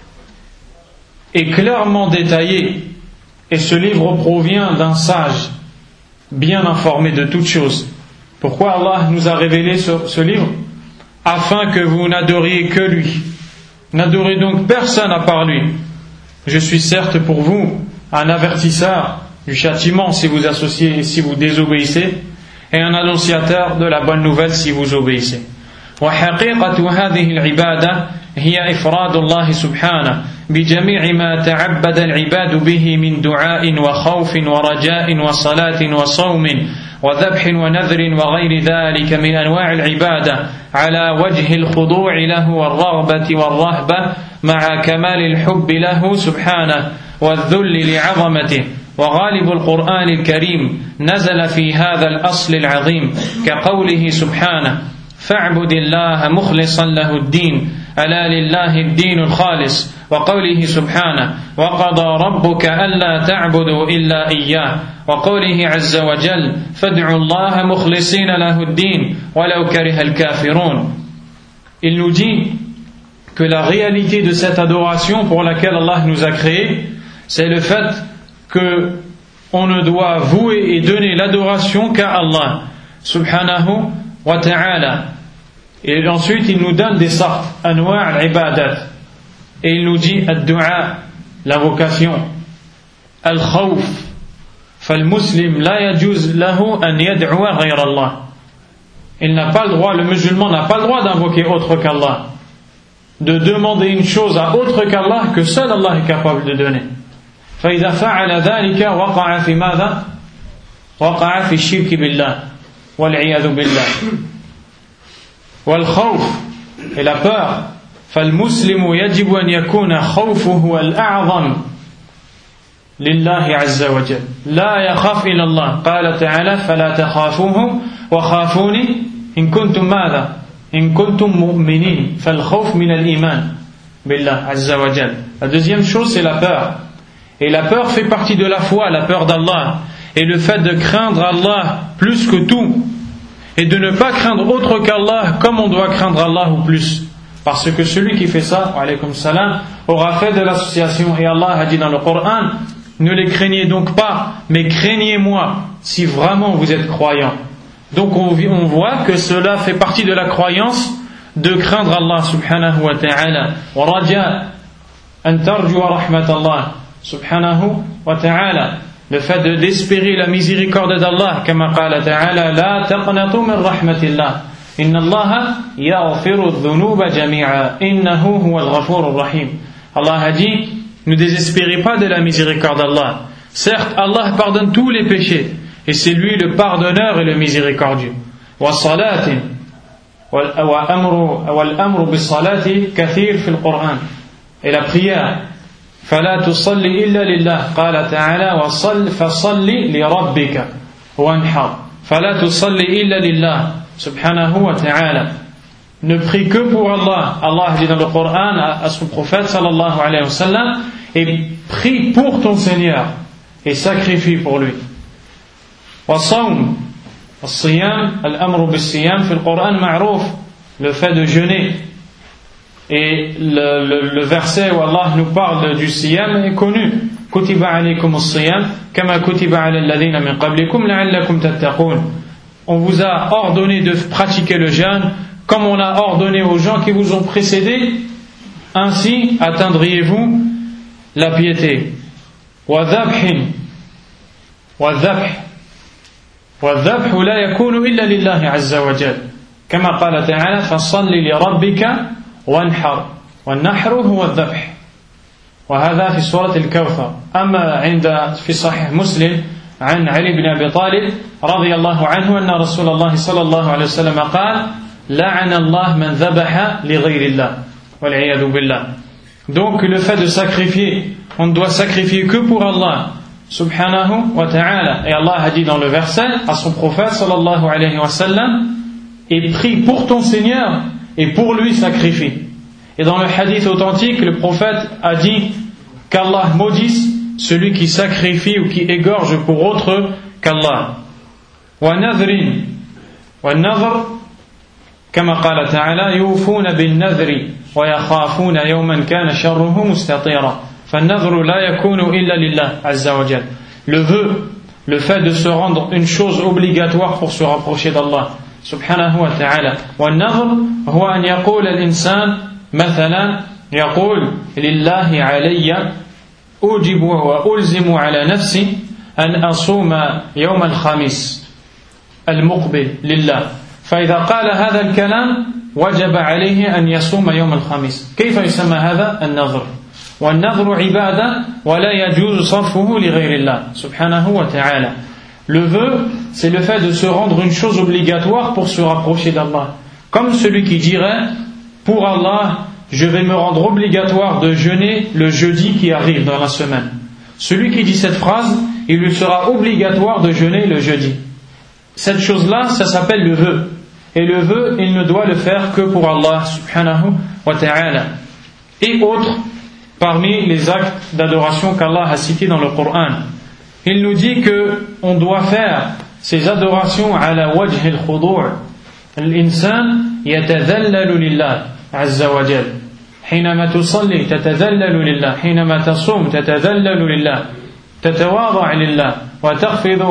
A: et clairement détaillés. Et ce livre provient d'un sage bien informé de toutes choses. Pourquoi Allah nous a révélé ce livre? Afin que vous n'adoriez que lui. N'adorez donc personne à part lui. Je suis certes pour vous un avertisseur du châtiment si vous associez et si vous désobéissez, et un annonciateur de la bonne nouvelle si vous obéissez. وحقيقة هذه العبادة هي إفراد الله سبحانه بجميع ما تعبد العباد به من دعاء وخوف ورجاء وصلاة وصوم وذبح ونذر وغير ذلك من أنواع العبادة على وجه الخضوع له والرغبة والرهبة مع كمال الحب له سبحانه والذل لعظمته. وغالب القرآن الكريم نزل في هذا الأصل العظيم كقوله سبحانه فاعبد الله مخلصا له الدين ألا لله الدين الخالص وقوله سبحانه وقضى ربك ألا تعبدوا إلا إياه وقوله عز وجل فادعوا الله مخلصين له الدين ولو كره الكافرون. Il nous dit que la réalité de cette adoration pour laquelle Allah nous a créés, c'est le fait que on ne doit vouer et donner l'adoration qu'à Allah subhanahu wa ta'ala. Et ensuite il nous donne des sortes, anwa' al-ibadat, et il nous dit ad-du'a, l'invocation, al-khawf, fal-muslim la yajuz lahu an yad'uwa ghayr Allah. Il n'a pas le droit, le musulman n'a pas le droit d'invoquer autre qu'Allah, de demander une chose à autre qu'Allah que seul Allah est capable de donner. فإذا فعل ذلك وقع في ماذا؟ وقع في الشرك بالله والعياذ بالله. والخوف et la peur فالمسلم يجب أن يكون خوفه الأعظم لله عز وجل لا يخاف إلى الله. قال تعالى فلا تخافوهم وخافوني إن كنتم ماذا؟ إن كنتم مؤمنين. فالخوف من الإيمان بالله عز وجل. La deuxième chose c'est la peur. Et la peur fait partie de la foi, la peur d'Allah. Et le fait de craindre Allah plus que tout. Et de ne pas craindre autre qu'Allah comme on doit craindre Allah ou plus. Parce que celui qui fait ça, wa alaykum salam, aura fait de l'association. Et Allah a dit dans le Coran, ne les craignez donc pas, mais craignez-moi si vraiment vous êtes croyants. Donc on voit que cela fait partie de la croyance de craindre Allah subhanahu wa ta'ala. Wa raja an tarjua rahmatallah subhanahu wa ta'ala, le fait d'espérer la miséricorde d'Allah, kama qala ta'ala la taqnatu min rahmatillah inna Allaha yaghfiru dhunuba jami'a innahu huwal ghafurur rahim. Allah a dit ne désespérez pas de la miséricorde d'Allah. Certes Allah pardonne tous les péchés et c'est lui le pardonneur et le miséricordieux. Wa salatin wal amru bis salati kathir fil Qur'an. Et la prière فلا تصلي إلا لله قال تعالى فصل لربك وانحر فلا تصلي إلا لله سبحانه وتعالى. Ne prie que pour Allah. Allah dit dans le Coran à son prophète sallallahu alayhi wa sallam, et prie pour ton Seigneur et sacrifie pour lui. والصوم الصيام الأمر بالصيام في القرآن معروف, le fait de jeûner. Et le verset où Allah nous parle du siyam est connu. Kutiba alaykum as-siyam kama kutiba ala alladhina min qablikum la'allakum tattaqun. On vous a ordonné de pratiquer le jeûne comme on a ordonné aux gens qui vous ont précédés, ainsi atteindriez-vous la piété. Wa dhabhin wa dhabhu la yakunu illa lillahi azza wa jalla kama qala ta'ala fasalli li rabbika وانحر والنحر هو الذبح وهذا في سورة الكوثر. أما عند في صحيح مسلم عن علي بن أبي طالب رضي الله عنه أن رسول الله صلى الله عليه وسلم قال لعن الله من ذبح لغير الله والعياذ بالله. Donc le fait de sacrifier, on ne doit sacrifier que pour Allah subhanahu wa ta'ala. Et Allah a dit dans le verset à son prophète sallallahu alayhi wa sallam, et prie pour ton Seigneur et pour lui sacrifie. Et dans le hadith authentique, le prophète a dit qu'Allah maudisse celui qui sacrifie ou qui égorge pour autre qu'Allah. Wa nadhrin, wa nadhr, kama qala ta'ala, yufuna bin nadhri wa yakhafuna yawman kana sharruhu mustatira. Fa nadhru la yakunu illa lillah azza wa jalla. Le vœu, le fait de se rendre une chose obligatoire pour se rapprocher d'Allah سبحانه وتعالى. والنظر هو أن يقول الإنسان مثلا يقول لله علي أوجب وألزم على نفسي أن أصوم يوم الخميس المقبل لله، فإذا قال هذا الكلام وجب عليه أن يصوم يوم الخميس. كيف يسمى هذا؟ النظر. والنظر عبادة ولا يجوز صرفه لغير الله سبحانه وتعالى. Le vœu, c'est le fait de se rendre une chose obligatoire pour se rapprocher d'Allah. Comme celui qui dirait, pour Allah, je vais me rendre obligatoire de jeûner le jeudi qui arrive dans la semaine. Celui qui dit cette phrase, il lui sera obligatoire de jeûner le jeudi. Cette chose-là, ça s'appelle le vœu. Et le vœu, il ne doit le faire que pour Allah subhanahu wa ta'ala. Et autres, parmi les actes d'adoration qu'Allah a cités dans le Coran. Il nous dit que on doit faire ces adorations ala wajh al-khudu'. L'insan yatadhallalu lillah azza wa jal. حينما تصلي تتذلل لله، حينما تصوم تتذلل لله، تتواضع لله وتخفض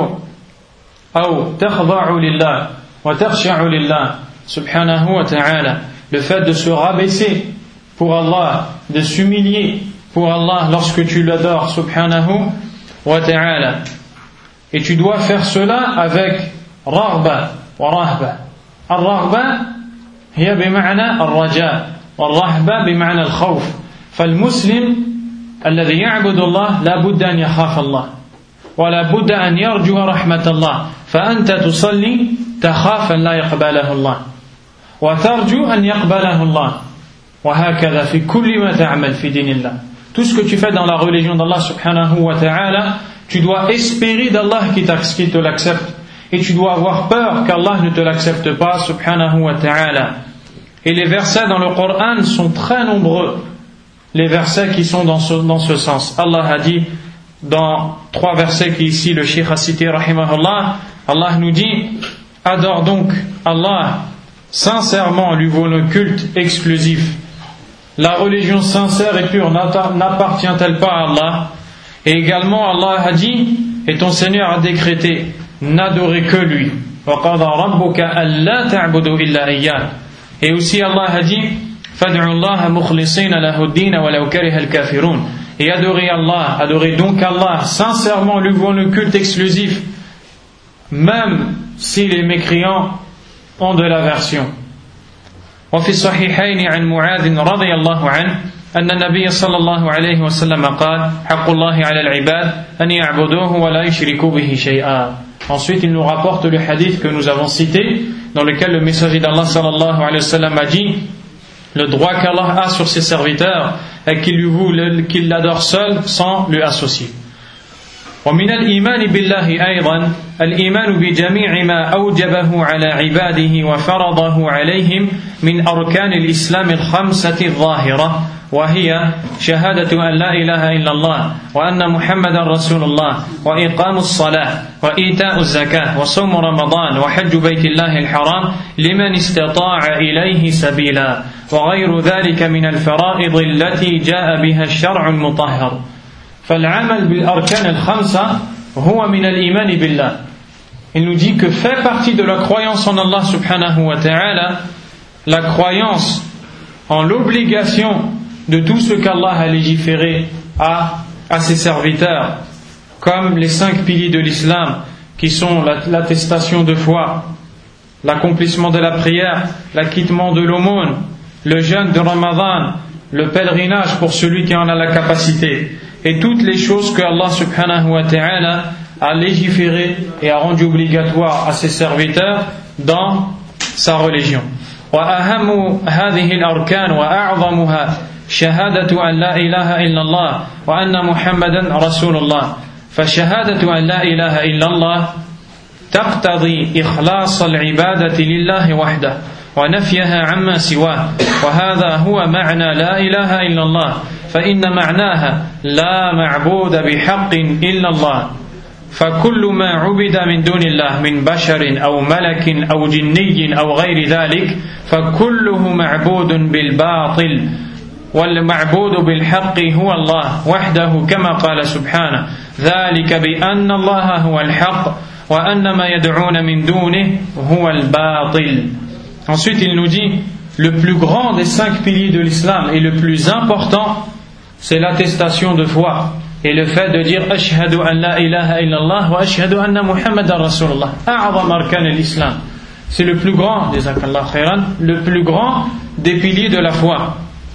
A: أو تخضع لله وتخشع لله سبحانه وتعالى. Le fait de se rabaisser pour Allah, de s'humilier pour Allah lorsque tu l'adores subhanahu wa ta'ala. Et tu dois faire cela avec raghba wa rahba. Al-raghba hiya bima'na al-raja, wal-rahba bima'na al-khawf. فالمسلم الذي يعبد الله لا بد أن يخاف الله ولا بد أن يرجو رحمة الله. فأنت تصلي تخاف أن لا يقبله الله وترجو أن يقبله الله وهكذا في كل ما تعمل في دين الله. Tout ce que tu fais dans la religion d'Allah subhanahu wa ta'ala, tu dois espérer d'Allah qui te l'accepte. Et tu dois avoir peur qu'Allah ne te l'accepte pas subhanahu wa ta'ala. Et les versets dans le Coran sont très nombreux. Les versets qui sont dans ce sens. Allah a dit dans 3 versets qu'ici le Cheikh a cité rahimahullah, Allah nous dit, adore donc Allah sincèrement, lui vaut le culte exclusif. La religion sincère et pure n'appartient-elle pas à Allah? Et également Allah a dit, et ton Seigneur a décrété, n'adorez que lui. وَقَضَى رَبُّكَ أَلَّا تَعْبُدُوا إِلَّا إِيَّاهُ. Et aussi Allah a dit, فَادْعُوا اللَّهَ مُخْلِصِينَ لَهُ الدِّينَ وَلَوْ كَرِهَ الْكَافِرُونَ. Et adorez donc Allah sincèrement, lui vaut le culte exclusif, même si les mécréants ont de l'aversion. وفي الصحيحين عن معاذ رضي الله عنه أن النبي صلى الله عليه وسلم قال حق الله على العباد أن يعبدوه ولا يشركوا به شيئا. Ensuite il nous rapporte le hadith que nous avons cité dans lequel le messager d'Allah sallallahu alayhi wa sallam a dit le droit qu'Allah a sur ses serviteurs est qu'il l'adore seul sans lui associer. ومن الإيمان بالله أيضا الإيمان بجميع ما أوجبه على عباده وفرضه عليهم من أركان الإسلام الخمسة الظاهرة، وهي شهادة أن لا إله إلا الله وأن محمدا رسول الله وإقام الصلاة وإيتاء الزكاة وصوم رمضان وحج بيت الله الحرام لمن استطاع إليه سبيلا وغير ذلك من الفرائض التي جاء بها الشرع المطهر. فالعمل بالأركان الخمسة هو من الإيمان بالله. Il nous dit que fait partie de la croyance en Allah subhanahu wa ta'ala la croyance en l'obligation de tout ce qu'Allah a légiféré à ses serviteurs, comme les 5 piliers de l'islam qui sont l'attestation de foi, l'accomplissement de la prière, l'acquittement de l'aumône, le jeûne de Ramadan, le pèlerinage pour celui qui en a la capacité, et toutes les choses que Allah subhanahu wa ta'ala a légiféré et a rendu obligatoire à ses serviteurs dans sa religion. وأهم هذه الأركان وأعظمها شهادة أن لا إله إلا الله وأن محمدا رسول الله. فشهادة أن لا إله إلا الله تقتضي إخلاص العبادة لله وحده ونفيها عما سواه، وهذا هو معنى لا إله إلا الله، فإن معناها لا معبود بحق إلا الله. فكل ما عبد من دون الله من بشر أو ملك أو جني أو غير ذلك فكله معبود بالباطل، والمعبود بالحق هو الله وحده كما قال سبحانه ذلك بأن الله هو الحق وأن ما يدعون من دونه هو الباطل. Ensuite il nous dit le plus grand des 5 piliers de l'islam et le plus important c'est l'attestation de foi et le fait de dire ashhadu an la ilaha illallah wa ashhadu anna muhammadan rasulullah, a'zam arkan al-islam. C'est le plus grand, jazakallah khairan, le plus grand des piliers de la foi.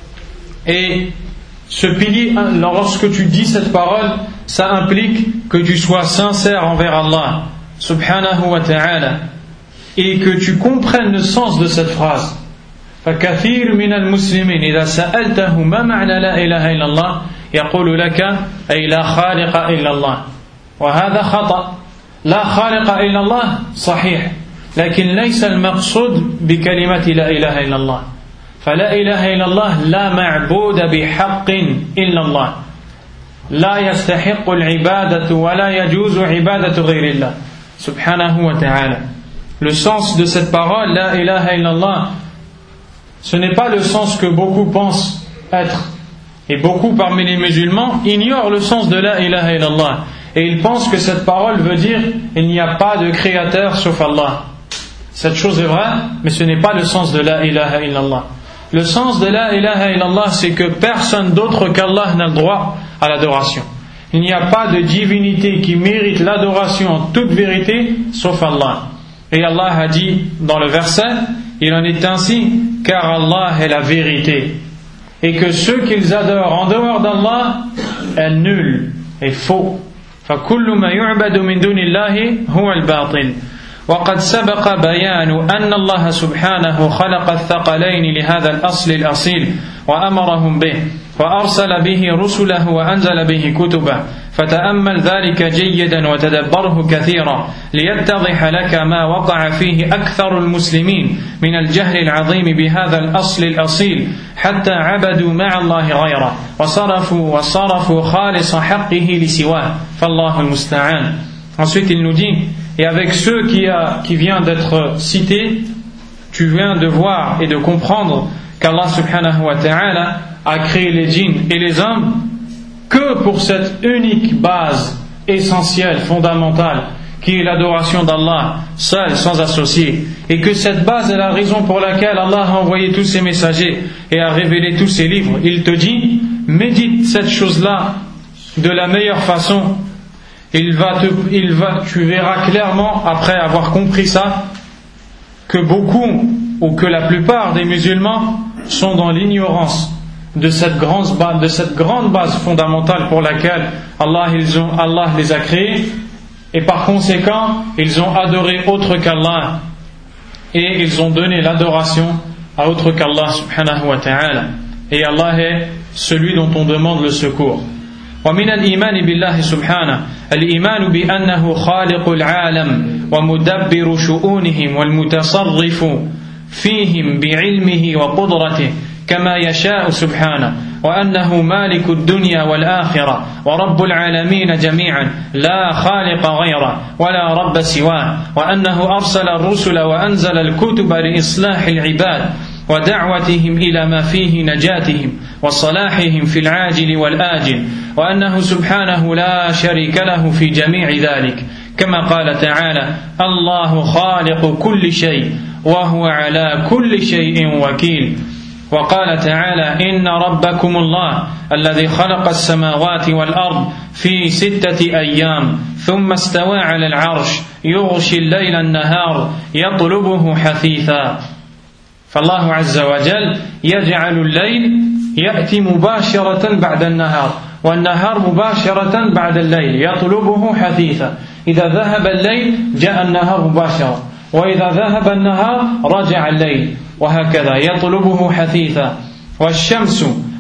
A: Et ce pilier, lorsque tu dis cette parole, ça implique que tu sois sincère envers Allah subhanahu wa ta'ala et que tu comprennes le sens de cette phrase. فكثير من المسلمين إذا سألته ما معنى لا إله إلا الله يقول لك أي لا خالق إلا الله، وهذا خطأ. لا خالق إلا الله صحيح، لكن ليس المقصود بكلمة لا إله إلا الله. فلا إله إلا الله لا معبود بحق إلا الله، لا يستحق العبادة ولا يجوز عبادة غير الله سبحانه وتعالى. Le sens de cette parole لا إله إلا الله, ce n'est pas le sens que beaucoup pensent être. Et beaucoup parmi les musulmans ignorent le sens de la ilaha illallah. Et ils pensent que cette parole veut dire il n'y a pas de créateur sauf Allah. Cette chose est vraie, mais ce n'est pas le sens de la ilaha illallah. Le sens de la ilaha illallah, c'est que personne d'autre qu'Allah n'a le droit à l'adoration. Il n'y a pas de divinité qui mérite l'adoration en toute vérité sauf Allah. Et Allah a dit dans le verset, il en est ainsi car Allah est la vérité et que ceux qu'ils adorent en dehors d'Allah est nul et faux. فكل ما يعبد من دون الله هو الباطل. وقد سبق بيان أن الله سبحانه خلق الثقلين لهذا الأصل الأصيل وأمرهم به وأرسل به رسله وأنزل به كتبه، فتأمل ذلك جيدا وتدبره كثيرا ليتضح لك ما وقع فيه أكثر المسلمين من الجهل العظيم بهذا الأصل الأصيل حتى عبدوا مع الله غيره وصرفوا خالص حقه لسواه فالله المستعان. Ensuite il nous dit, et avec ceux qui vient d'être cités, tu viens de voir et de comprendre qu'Allah subhanahu wa ta'ala a créé les djinns et les hommes que pour cette unique base essentielle, fondamentale, qui est l'adoration d'Allah, seul, sans associé, et que cette base est la raison pour laquelle Allah a envoyé tous ses messagers et a révélé tous ses livres. Il te dit, médite cette chose-là de la meilleure façon. Tu verras clairement, après avoir compris ça, que beaucoup, ou que la plupart des musulmans sont dans l'ignorance de cette grande base fondamentale pour laquelle Allah les a créés, et par conséquent ils ont adoré autre qu'Allah et ils ont donné l'adoration à autre qu'Allah subhanahu wa ta'ala, et Allah est celui dont on demande le secours. ومن الإيمان بالله سبحانه الإيمان بأنه خالق العالم ومدبر شؤونهم والمتصرف فيهم بعلمه وقدرته كما يشاء سبحانه، وأنه مالك الدنيا والآخرة ورب العالمين جميعا لا خالق غيره ولا رب سواه، وأنه أرسل الرسل وأنزل الكتب لإصلاح العباد ودعوتهم إلى ما فيه نجاتهم وصلاحهم في العاجل والآجل، وأنه سبحانه لا شريك له في جميع ذلك كما قال تعالى الله خالق كل شيء وهو على كل شيء وكيل. وقال تعالى إن ربكم الله الذي خلق السماوات والأرض في 6 أيام ثم استوى على العرش يغشي الليل النهار يطلبه حثيثا. فالله عز وجل يجعل الليل يأتي مباشرة بعد النهار والنهار مباشرة بعد الليل يطلبه حثيثا. إذا ذهب الليل جاء النهار مباشرة، وإذا ذهب النهار رجع الليل، وهكذا يطلبه حثيثا. والشمس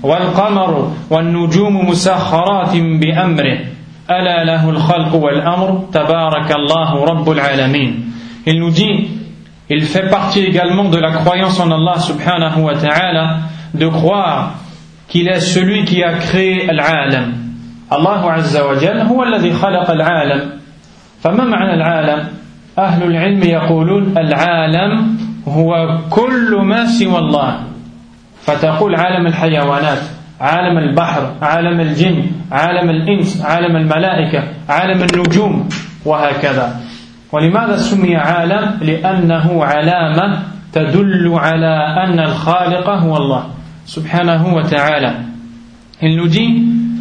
A: والقمر والنجوم مسخرات بأمره ألا له الخلق والأمر تبارك الله رب العالمين. Il nous dit, il fait partie également de la croyance en Allah subhanahu wa ta'ala de croire qu'il est celui qui a créé العالم. الله عز وجل هو الذي خلق العالم. فما معنى العالم؟ أهل العلم يقولون العالم هو كل ما سوى الله. فتقول عالم الحيوانات، عالم البحر، عالم الجن، عالم الإنس، عالم الملائكة، عالم النجوم، وهكذا. ولماذا سمي عالم؟ لأنه علامة تدل على أن الخالق هو الله سبحانه وتعالى. Il nous dit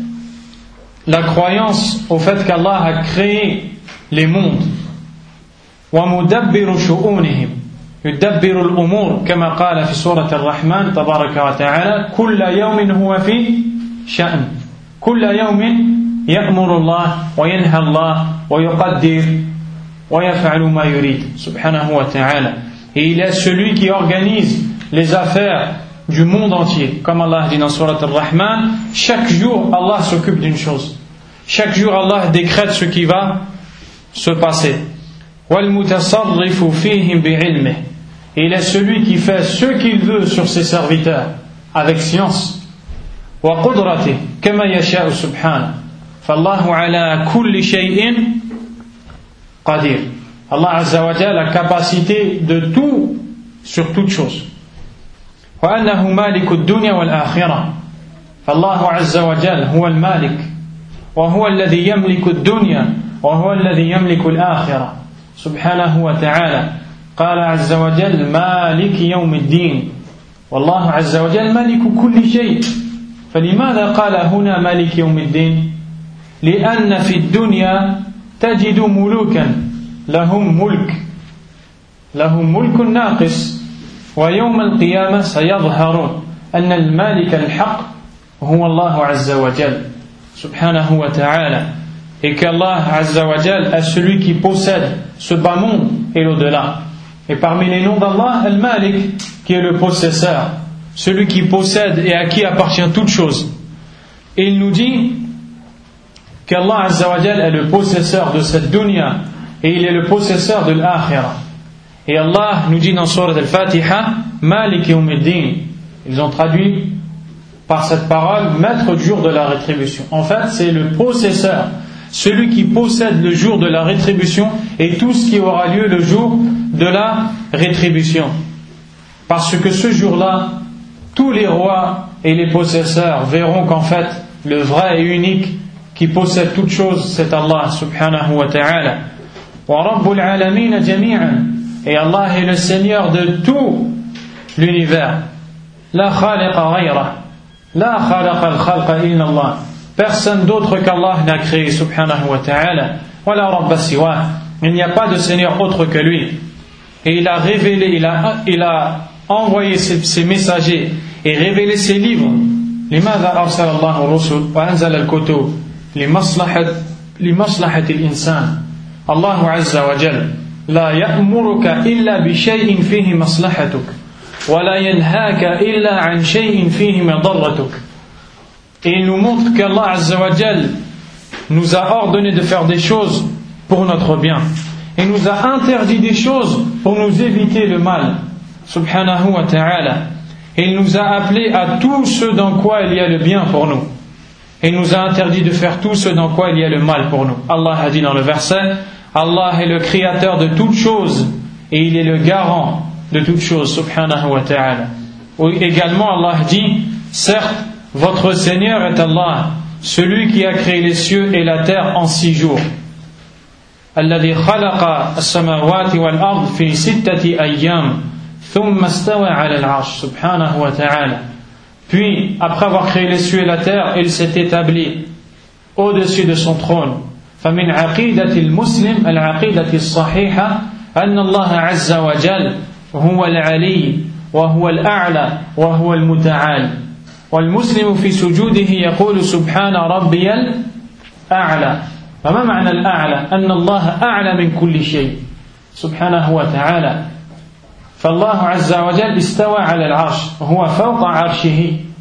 A: la croyance au fait qu'Allah a créé les mondes. ومدبر شؤونهم يدبر الأمور كما قال في سورة الرحمن تبارك وتعالى كل يوم هو في شأن. كل يوم يأمر الله وينهى الله ويقدر ويفعل ما يريد سبحانه وتعالى. Et il est celui qui organise les affaires du monde entier. Comme Allah dit dans Surat Al-Rahman, chaque jour Allah s'occupe d'une chose. Chaque jour Allah décrète ce qui va se passer. وَالْمُتَصَرِّفُ فِيهِمْ بِعِلْمِهِ. Et il est celui qui fait ce qu'il veut sur ses serviteurs avec science. وَقُدْرَتِهِ كَمَا يَشَاءُ سُبْحَانَهُ. فَاللَّهُ عَلَى كُلِّ شَيْءٍ قَدِيرٌ. Allah Azza wa Jalla a la capacité de tout sur toute chose. وأنه مالك الدنيا والآخرة. فالله عز وجل هو المالك وهو الذي يملك الدنيا وهو الذي يملك الآخرة سبحانه وتعالى. قال عز وجل مالك يوم الدين والله عز وجل مالك كل شيء. فلماذا قال هنا مالك يوم الدين؟ لأن في الدنيا تجد ملوكا لهم ملك ناقص ويوم القيامة سيظهر أن المالك الحق هو الله عز وجل سبحانه وتعالى. Et qu'Allah Azza wa Jal est celui qui possède ce bas monde et l'au-delà. Et parmi les noms d'Allah, Al-Malik, qui est le possesseur, celui qui possède et à qui appartient toute chose. Et il nous dit qu'Allah Azza wa Jal est le possesseur de cette dunya et il est le possesseur de l'akhirah. Et Allah nous dit dans Surat Al-Fatiha, Malik Yawmiddin. Ils ont traduit par cette parole, maître du jour de la rétribution. En fait, c'est le possesseur, celui qui possède le jour de la rétribution et tout ce qui aura lieu le jour de la rétribution. Parce que ce jour-là, tous les rois et les possesseurs verront qu'en fait, le vrai et unique qui possède toute chose, c'est Allah subhanahu wa ta'ala. Wa rabbul alamin jami'an. Et Allah est le Seigneur de tout l'univers. La khaliqa ghayra. La khalaqa al-khalqa illa Allah. Personne d'autre qu'Allah n'a créé subhanahu wa ta'ala. Wa la rabba siwa. Il n'y a pas de Seigneur autre que lui. Et il a révélé, il a envoyé ses messagers et révélé ses livres. لماذا أرسل الله الرسل وأنزل الكتب لمصلحة الإنسان. الله عز وجل لا يأمرك إلا بشيء فيه مصلحتك ولا ينهاك إلا عن شيء فيه مضرتك. Et il nous montre qu'Allah Azza wa Jal nous a ordonné de faire des choses pour notre bien et nous a interdit des choses pour nous éviter le mal subhanahu wa ta'ala. Et il nous a appelés à tout ce dans quoi il y a le bien pour nous et il nous a interdit de faire tout ce dans quoi il y a le mal pour nous. Allah a dit dans le verset, Allah est le créateur de toutes choses et il est le garant de toutes choses subhanahu wa ta'ala. Également Allah dit, certes votre Seigneur est Allah, celui qui a créé les cieux et la terre en 6 jours. Alladhi khalaqa as-samawati wal ard fi 6 ayyam thumma istawa 'ala al-'arsh subhanahu wa ta'ala. Puis après avoir créé les cieux et la terre, il s'est établi au-dessus de son trône. فمن عقيدة المسلم العقيدة الصحيحة أن الله عز وجل هو العلي وهو الأعلى وهو المتعال. والمسلم في سجوده يقول سبحان ربي الأعلى. فما معنى الأعلى؟ أن الله أعلى من كل شيء سبحانه وتعالى. فالله عز وجل استوى على العرش وهو فوق عرشه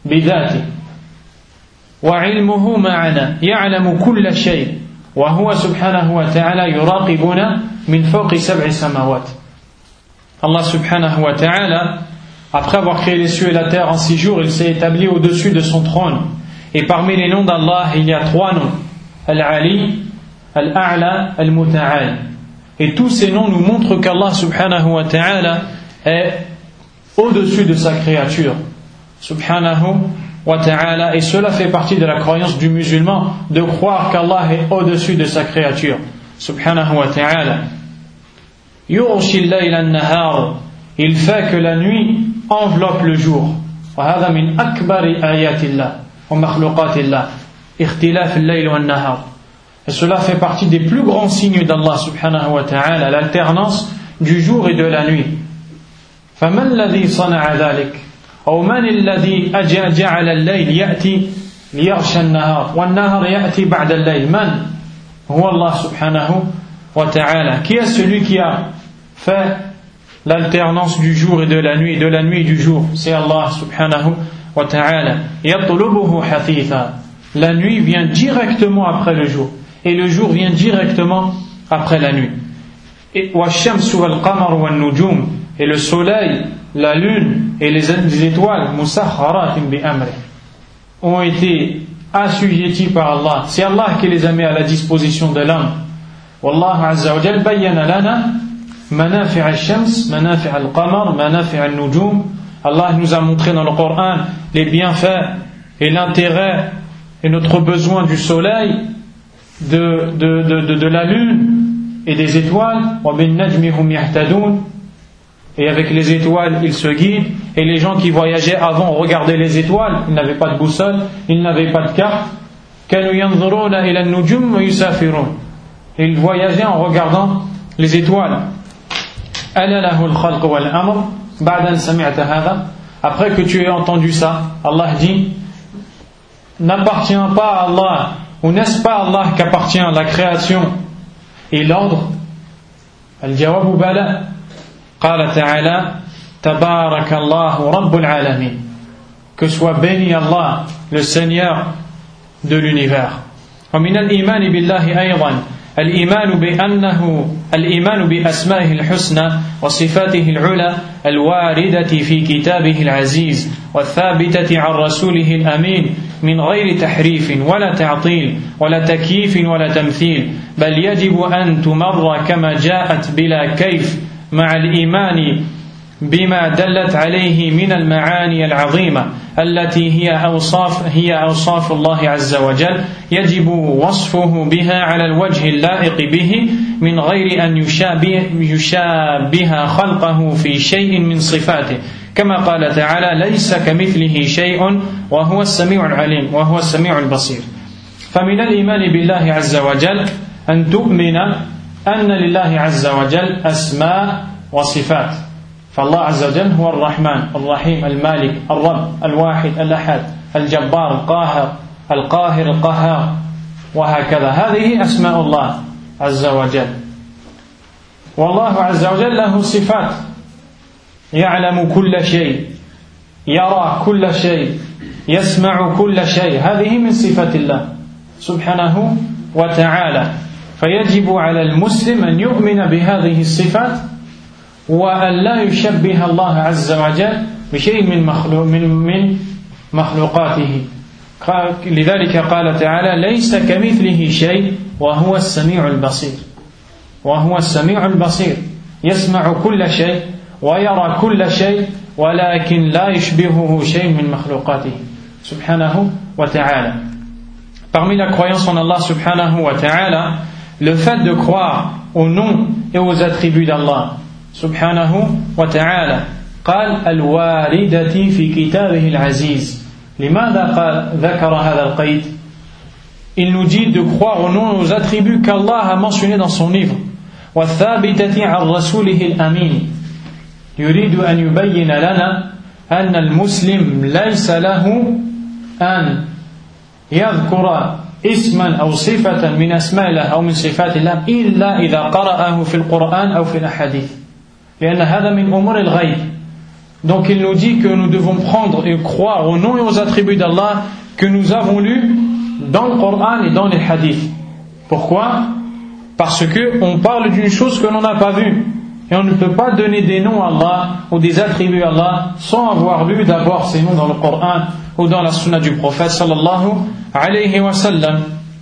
B: بذاته وعلمه معنا يعلم كل شيء وهو سبحانه وتعالى يراقبنا من فوق 7 سماوات. Allah subhanahu wa ta'ala, après avoir créé les cieux et la terre en 6 jours, il s'est établi au-dessus de son trône. Et parmi les noms d'Allah, il y a 3 noms: Al-Ali, Al-A'la, Al-Muta'al. Et tous ces noms nous montrent qu'Allah subhanahu wa ta'ala est au-dessus de sa créature. Subhanahu wa ta'ala. Et cela fait partie de la croyance du musulman, de croire qu'Allah est au-dessus de sa créature. Subhanahu wa ta'ala. Yughshi al-layla an-nahar. Il fait que la nuit enveloppe le jour. وهذا من أكبر آيات الله ومخلوقات الله اختلاف الليل والنهار. Et cela fait partie des plus grands signes d'Allah subhanahu wa ta'ala, l'alternance du jour et de la nuit. فمن الذي صنع ذلك؟ أو من الذي جعل الليل يأتي ليغشى النهار والنهار يأتي بعد الليل؟ من هو الله سبحانه وتعالى. Qui est celui qui a fait l'alternance du jour et de la nuit et du jour? C'est Allah subhanahu wa ta'ala. يطلبه حثيثا. La nuit vient directement après le jour et le jour vient directement après la nuit. والشمس والقمر والنجوم. Et le soleil, la lune et les étoiles مسخرات بأمره ont été assujettis par Allah. C'est Allah qui les a mis à la disposition de l'homme. والله عز وجل بين لنا منافع الشمس منافع القمر منافع النجوم. Allah nous a montré dans le Coran les bienfaits et l'intérêt et notre besoin du soleil, de la lune et des étoiles. وبالنجم هم يهتدون. Et avec les étoiles, ils se guident. Et les gens qui voyageaient avant regardaient les étoiles. Ils n'avaient pas de boussole, ils n'avaient pas de carte. كانوا ينظرون إلى النجوم ويسافرون. Et ils voyageaient en regardant les étoiles. ألا له الخلق والأمر بعد أن سمعت هذا. Après que tu aies entendu ça, Allah dit: n'appartient pas à Allah, ou n'est-ce pas Allah qu'appartient la création et l'ordre? الجواب بلى. قال تعالى: تبارك الله رب العالمين. Que soit béni Allah, le Seigneur de l'univers. ومن الإيمان بالله أيضا الإيمان بأسمائه الحسنى وصفاته العلى الواردة في كتابه العزيز والثابتة عن رسوله الأمين من غير تحريف ولا تعطيل ولا تكييف ولا تمثيل، بل يجب أن تمر كما جاءت بلا كيف، مع الإيمان بما دلت عليه من المعاني العظيمة التي هي أوصاف الله عز وجل، يجب وصفه بها على الوجه اللائق به من غير أن يشابه خلقه في شيء من صفاته، كما قال تعالى: ليس كمثله شيء وهو السميع العليم وهو السميع البصير. فمن الإيمان بالله عز وجل أن تؤمن أن لله عز وجل أسماء وصفات. فالله عز وجل هو الرحمن الرحيم المالك الرب الواحد الأحد الجبار القاهر القهار وهكذا. هذه أسماء الله عز وجل. والله عز وجل له صفات: يعلم كل شيء، يرى كل شيء، يسمع كل شيء. هذه من صفات الله سبحانه وتعالى. فيجب على المسلم أن يؤمن بهذه الصفات وأن لا يشبه الله عز وجل بشيء من مخلوقاته. لذلك قال تعالى: ليس كمثله شيء وهو السميع البصير. وهو السميع البصير يسمع كل شيء ويرى كل شيء ولكن لا يشبهه شيء من مخلوقاته سبحانه وتعالى. Parmi la croyance en Allah subhanahu wa ta'ala, le fait de croire aux noms et aux attributs d'Allah subhanahu wa ta'ala. قال: الواردة في كتابه العزيز. لماذا ذكر هذا القيد؟ Il nous dit de croire aux noms et aux attributs qu'Allah a mentionnés dans son livre. والثابتة عن رسوله الأمين. يريد أن يبين لنا أن المسلم ليس له أن يذكر اسما أو صفة من أسماء الله أو من صفات الله إلا إذا قرأه في القرآن أو في الأحاديث، لأن هذا من أمور الغيب. Donc il nous dit que nous devons prendre et croire aux noms et aux attributs d'Allah que nous avons lus dans le Coran et dans les hadiths. Pourquoi? Parce qu'on parle d'une chose que l'on n'a pas vue. Et on ne peut pas donner des noms à Allah ou des attributs à Allah sans avoir lu d'abord ces noms dans le Coran ou dans la sunna du prophète sallallahu alayhi wa sallam.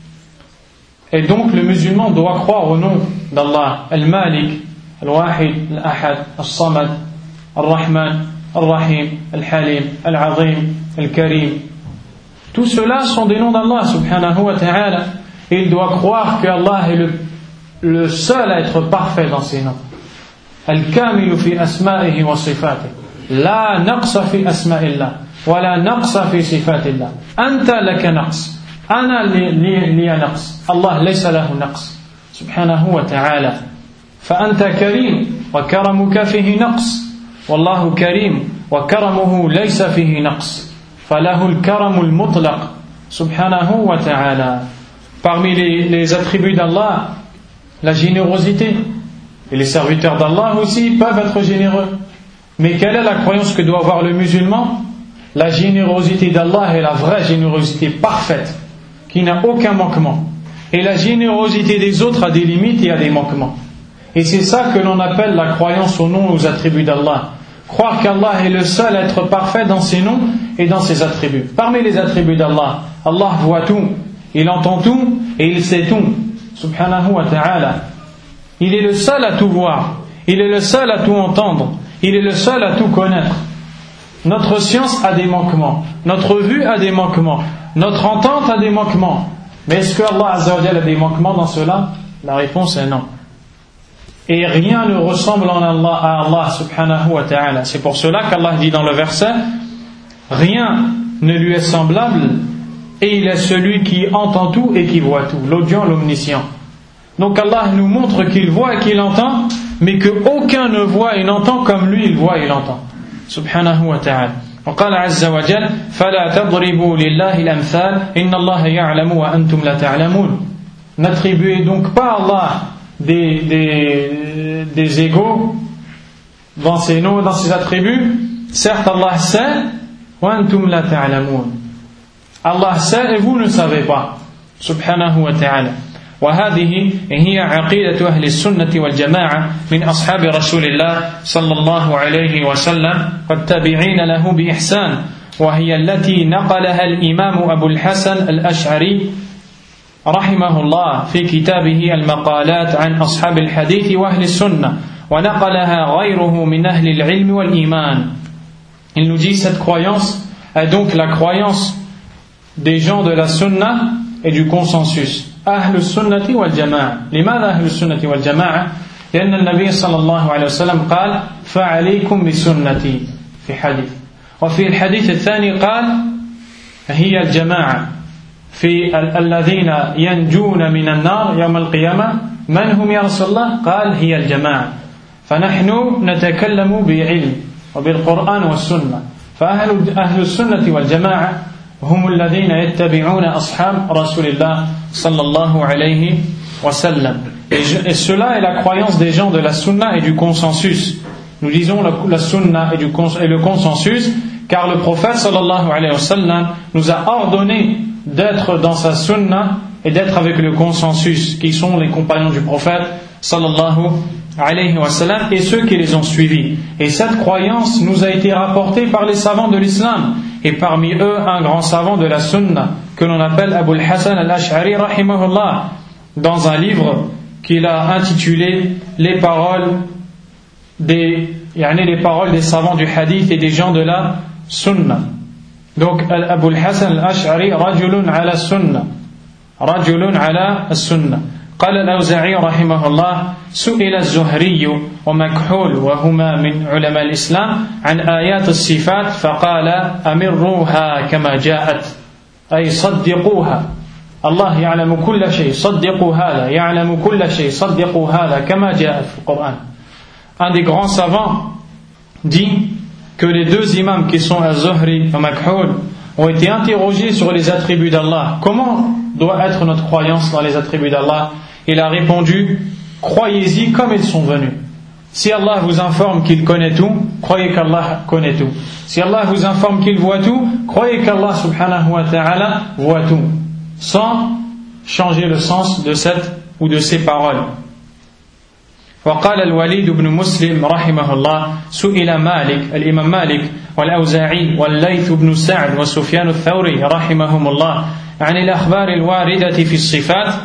B: Et donc le musulman doit croire au nom d'Allah, Al-Malik, Al-Wahid, Al-Ahad, Al-Samad, Al-Rahman, Al-Rahim, Al-Halim, Al-Azim, Al-Karim. Tout cela sont des noms d'Allah subhanahu wa ta'ala. Et il doit croire que Allah est le seul à être parfait dans ses noms. Al-Kamilu fi asma'ihi wa sifatih. La naqsa fi asma'illah. Wa la naqsa fi sifatillah. Anta laka naqs. Ana liya naqs. Allah laysa lahu naqs. Subhanahu wa ta'ala. Fa anta karim. Wa karamuka fihi naqs. Wallahu karim. Wa karamuhu laysa fihi naqs. Falahu al-karamu al-mutlaq. Subhanahu wa ta'ala. Parmi les attributs d'Allah, la générosité. Et les serviteurs d'Allah aussi peuvent être généreux. Mais quelle est la croyance que doit avoir le musulman? La générosité d'Allah est la vraie générosité parfaite, qui n'a aucun manquement. Et la générosité des autres a des limites et a des manquements. Et c'est ça que l'on appelle la croyance aux noms et aux attributs d'Allah. Croire qu'Allah est le seul à être parfait dans ses noms et dans ses attributs. Parmi les attributs d'Allah, Allah voit tout, il entend tout et il sait tout. Subhanahu wa ta'ala. Il est le seul à tout voir, il est le seul à tout entendre, il est le seul à tout connaître. Notre science a des manquements, notre vue a des manquements, notre entente a des manquements. Mais est-ce que Allah Azza wa Jalla a des manquements dans cela? La réponse est non. Et rien ne ressemble à Allah subhanahu wa ta'ala. C'est pour cela qu'Allah dit dans le verset: rien ne lui est semblable et il est celui qui entend tout et qui voit tout, l'audient, l'omniscient. Donc Allah nous montre qu'il voit et qu'il entend, mais qu'aucun ne voit et n'entend comme lui il voit et l'entend. Subhanahu wa ta'ala. وقال عز وجل فلا تضربوا لله الأمثال إن الله يعلم وأنتم لا تعلمون. N'attribuez donc pas à Allah des égaux dans ses noms et dans ses attributs. Certes Allah sait, وأنتم لا تعلمون. Allah sait et vous ne savez pas. Subhanahu wa ta'ala. وهذه هي عقيدة أهل السنة والجماعة من أصحاب رسول الله صلى الله عليه وسلم والتابعين له بإحسان وهي التي نقلها الإمام أبو الحسن الأشعري رحمه الله في كتابه المقالات عن أصحاب الحديث وأهل السنة ونقلها غيره من أهل العلم والإيمان. Il nous dit cette croyance est donc la croyance des gens de la sunna et du consensus. أهل السنة والجماعة. لماذا أهل السنة والجماعة؟ لأن النبي صلى الله عليه وسلم قال فعليكم بسنتي في حديث، وفي الحديث الثاني قال هي الجماعة في الذين ينجون من النار يوم القيامة. من هم يا رسول الله؟ قال هي الجماعة. فنحن نتكلم بعلم وبالقرآن والسنة. فأهل السنة والجماعة هم الذين يتبعون أصحاب رسول الله صلى الله عليه وسلم. Et cela est la croyance des gens de la sunna et du consensus. Nous disons la sunna et le consensus car le prophète sallallahu alayhi wa sallam nous a ordonné d'être dans sa sunna et d'être avec le consensus qui sont les compagnons du prophète sallallahu alayhi wa sallam et ceux qui les ont suivis. Et cette croyance nous a été rapportée par les savants de l'islam et parmi eux un grand savant de la sunna que l'on appelle Abu al-Hasan al-Ash'ari rahimahullah dans un livre qu'il a intitulé les paroles des savants du hadith et des gens de la sunna. Donc Abu al-Hasan al-Ash'ari rajulun ala sunna قال الأوزاعي رحمه الله سئل الزهري ومكحول وهما من علماء الإسلام عن آيات الصفات فقال أمروها كما جاءت أي صدقوها. الله يعلم كل شيء صدقوا هذا يعلم كل شيء صدقوا هذا كما جاءت في القرآن. Un des grands savants dit que les deux imams qui sont Az-Zuhri et Makhoul ont été interrogés sur les attributs d'Allah. Comment doit être notre croyance dans les attributs d'Allah? Il a répondu: croyez-y comme ils sont venus. Si Allah vous informe qu'il connaît tout, croyez qu'Allah connaît tout. Si Allah vous informe qu'il voit tout, croyez qu'Allah subhanahu wa ta'ala voit tout, sans changer le sens de cette ou de ces paroles. وقال الوليد بن مسلم رحمه الله سئل مالك الإمام مالك والأوزاعي والليث بن سعد وسفيان الثوري رحمهم الله عن الأخبار الواردة في الصفات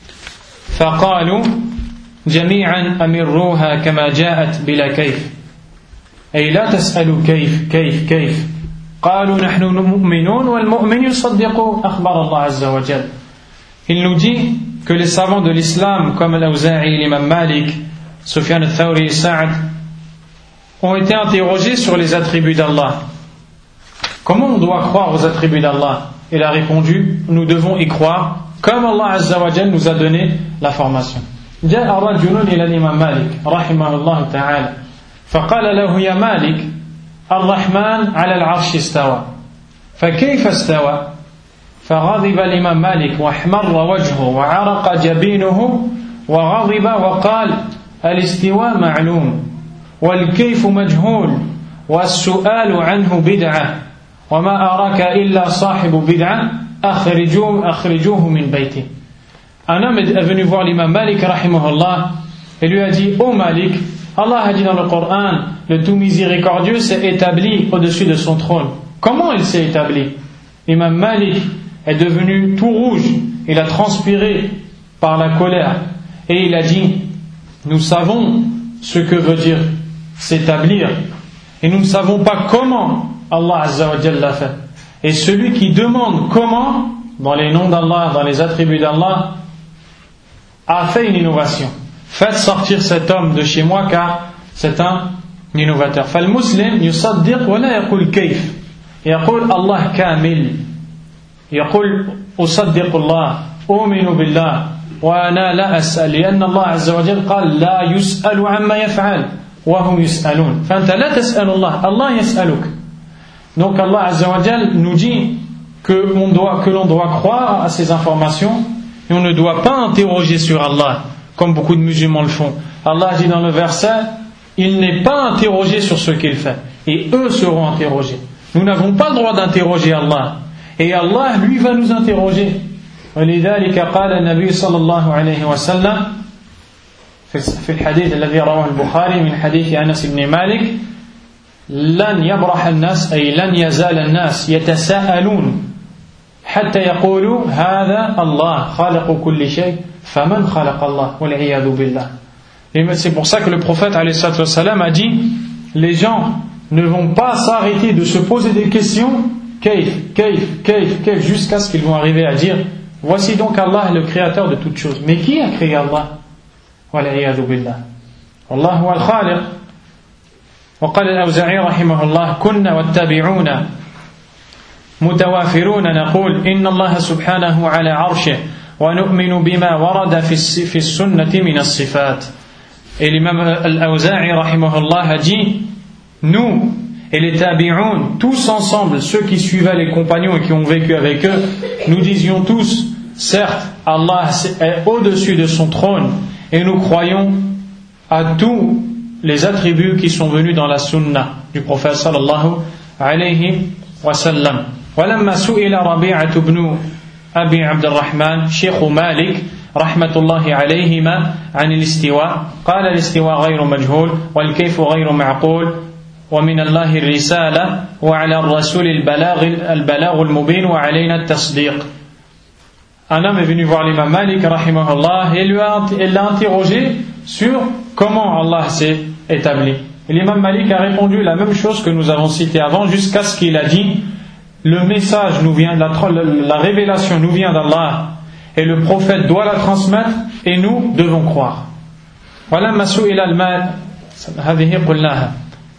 B: فقالوا جميعا أمروها كما جاءت بلا كيف أي لا تسألوا كيف قالوا نحن مؤمنون والمؤمن يصدق أخبار الله عز وجل. Il nous dit que les savants de l'islam comme Al-Awza'i, l'imam Malik, Sufyan al-Thawri et Sa'd ont été interrogés sur les attributs d'Allah. Comment on doit croire aux attributs d'Allah? Il a répondu, nous devons y croire comme Allah Azza wa Jal nous a donné la formation. جاء رجل إلى الإمام مالك رحمه الله تعالى فقال له يا مالك الرحمن على العرش استوى فكيف استوى؟ فغضب الإمام مالك واحمر وجهه وعرق جبينه وغضب وقال الاستواء معلوم والكيف مجهول والسؤال عنه بدعة وما أراك إلا صاحب بدعة أخرجوه من بيته. Un homme est venu voir l'imam Malik rahimahullah et lui a dit: Ô Malik, Allah a dit dans le Coran, le tout miséricordieux s'est établi au-dessus de son trône. Comment il s'est établi? L'imam Malik est devenu tout rouge, il a transpiré par la colère et il a dit: nous savons ce que veut dire s'établir et nous ne savons pas comment Allah Azza wa Jalla l'a fait. Et celui qui demande comment, dans les noms d'Allah, dans les attributs d'Allah, a fait une innovation. Faites sortir cet homme de chez moi car c'est un innovateur. فالمسلم يصدق ولا يقول كيف يقول الله كامل يقول أصدق الله أؤمن بالله وأنا لا أسأل لأن الله عز وجل قال لا يسأل عما يفعل وهم يسألون فأنت لا تسأل الله يسألك. Donc Allah Azza wa Jal nous dit que l'on doit croire à ces informations et on ne doit pas interroger sur Allah comme beaucoup de musulmans le font. Allah dit dans le verset: il n'est pas interrogé sur ce qu'il fait et eux seront interrogés. Nous n'avons pas le droit d'interroger Allah et Allah lui va nous interroger. ولذلك قال النبي صلى الله عليه وسلم في الحديث الذي رواه البخاري من حديث أنس بن مالك: لن يبرح الناس أي لن يزال الناس يتساءلون حتى يقولوا هذا الله خالق كل شيء فمن خلق الله والعياذ بالله. Et c'est pour ça que le prophète alayhi salatu wassalam a dit: les gens ne vont pas s'arrêter de se poser des questions كيف jusqu'à ce qu'ils vont arriver à dire: voici donc Allah le créateur de toutes choses. Mais qui a créé Allah? والعياذ بالله. والله هو الخالق. وقال الأوزاعي رحمه الله: كنا والتابعون متوافرون نقول إن الله سبحانه على عرشه ونؤمن بما ورد في السنة من الصفات. Et l'imam al-Awza'i rahimahullah a dit: nous et les tabi'un, tous ensemble, ceux qui suivaient les compagnons et qui ont vécu avec eux, nous disions tous: certes, Allah est au-dessus de son trône et nous croyons à tous les attributs qui sont venus dans la sunna du prophète sallallahu alayhi wa sallam. ولما سئل ربيعة بن أبي عبد الرحمن شيخ مالك رحمة الله عليهما عن الاستواء قال: الاستواء غير مجهول والكيف غير معقول ومن الله الرسالة وعلى الرسول البلاغ المبين وعلينا التصديق. Un homme est venu voir l'imam Malik rahimahullah et il l'a interrogé sur comment Allah s'est établi. Et l'imam Malik a répondu la même chose que nous avons cité avant, jusqu'à ce qu'il a dit: le message nous vient, la révélation nous vient d'Allah et le prophète doit la transmettre et nous devons croire. ولما سئل المال هذه قلناها.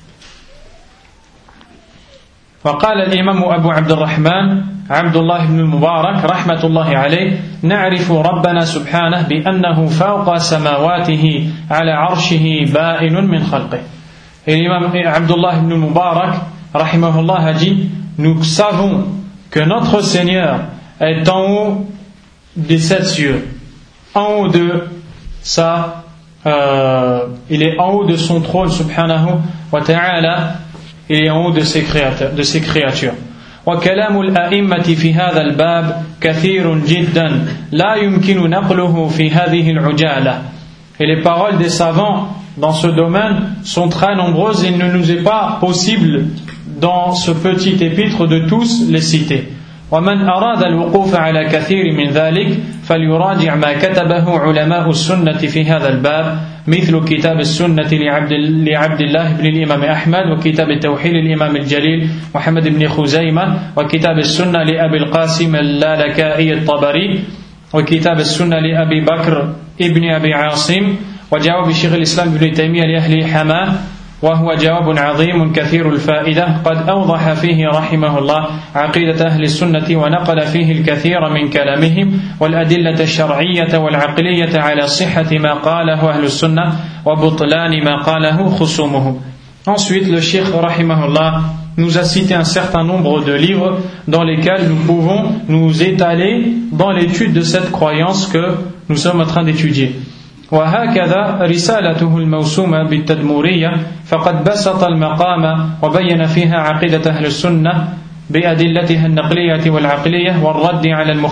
B: وقال الإمام أبو عبد الرحمن عبد الله بن المبارك رحمة الله عليه: نعرف ربنا سبحانه بأنه فوق سماواته على عرشه بائن من خلقه. Et l'imam Abdullah ibn Mubarak rahimahullah a dit: nous savons que notre Seigneur est en haut des 7 cieux, en haut de sa il est en haut de son trône subhanahu wa ta'ala, il est en haut de ses créatures. وكلام الأئمة في هذا الباب كثير جدا لا يمكن نقله في هذه العجالة. Et les paroles des savants dans ce domaine sont très nombreuses et il ne nous est pas possible dans ce petit épître de tous les citer. ومن أراد الوقوف على كثير من ذلك فليراجع ما كتبه علماء السنة في هذا الباب مثل كتاب السنة لعبد الله بن الإمام أحمد وكتاب التوحيد للإمام الجليل محمد بن خزيمة وكتاب السنة لأبي القاسم اللالكائي الطبري وكتاب السنة لأبي بكر ابن أبي عاصم وجواب شيخ الإسلام ابن تيمية لأهل حماه وهو جواب عظيم كثير الفائدة قد أوضح فيه رحمه الله عقيدة أهل السنة ونقل فيه الكثير من كلامهم والأدلة الشرعية والعقلية على صحة ما قاله أهل السنة وبطلان ما قاله خصومهم. Ensuite, le Cheikh rahimahullah nous a cité un certain nombre de livres dans lesquels nous pouvons nous étaler dans l'étude de cette croyance que nous sommes en train d'étudier. وهكذا رسالته الموسومة بالتدمورية فقد بسط المقام وبين فيها عقيدة أهل السنة بأدلتها النقلية والعقلية والرد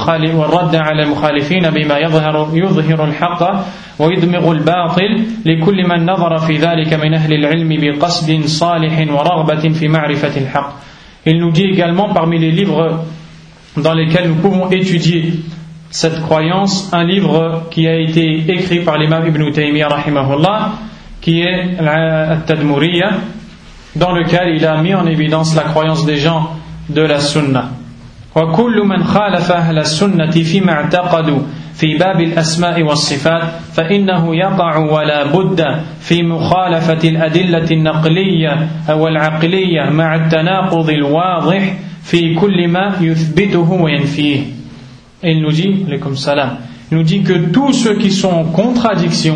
B: على المخالفين بما يظهر الحق ويدمغ الباطل لكل من نظر في ذلك من أهل العلم بقصد صالح ورغبة في معرفة الحق. Il nous dit également parmi les livres dans lesquels nous pouvons étudier cette croyance, un livre qui a été écrit par l'imam Ibn Taymiyyah rahimahullah, qui est At-Tadmuriyya, dans lequel il a mis en évidence la croyance des gens de la sunna. وكل من خالف أهل السنة فيما اعتقدوا في باب الأسماء والصفات فإنه يقع ولا بد في مخالفة الأدلة النقلية والعقلية مع التناقض الواضح في كل ما يثبته وينفيه. Et il nous dit, il nous dit que tous ceux qui sont en contradiction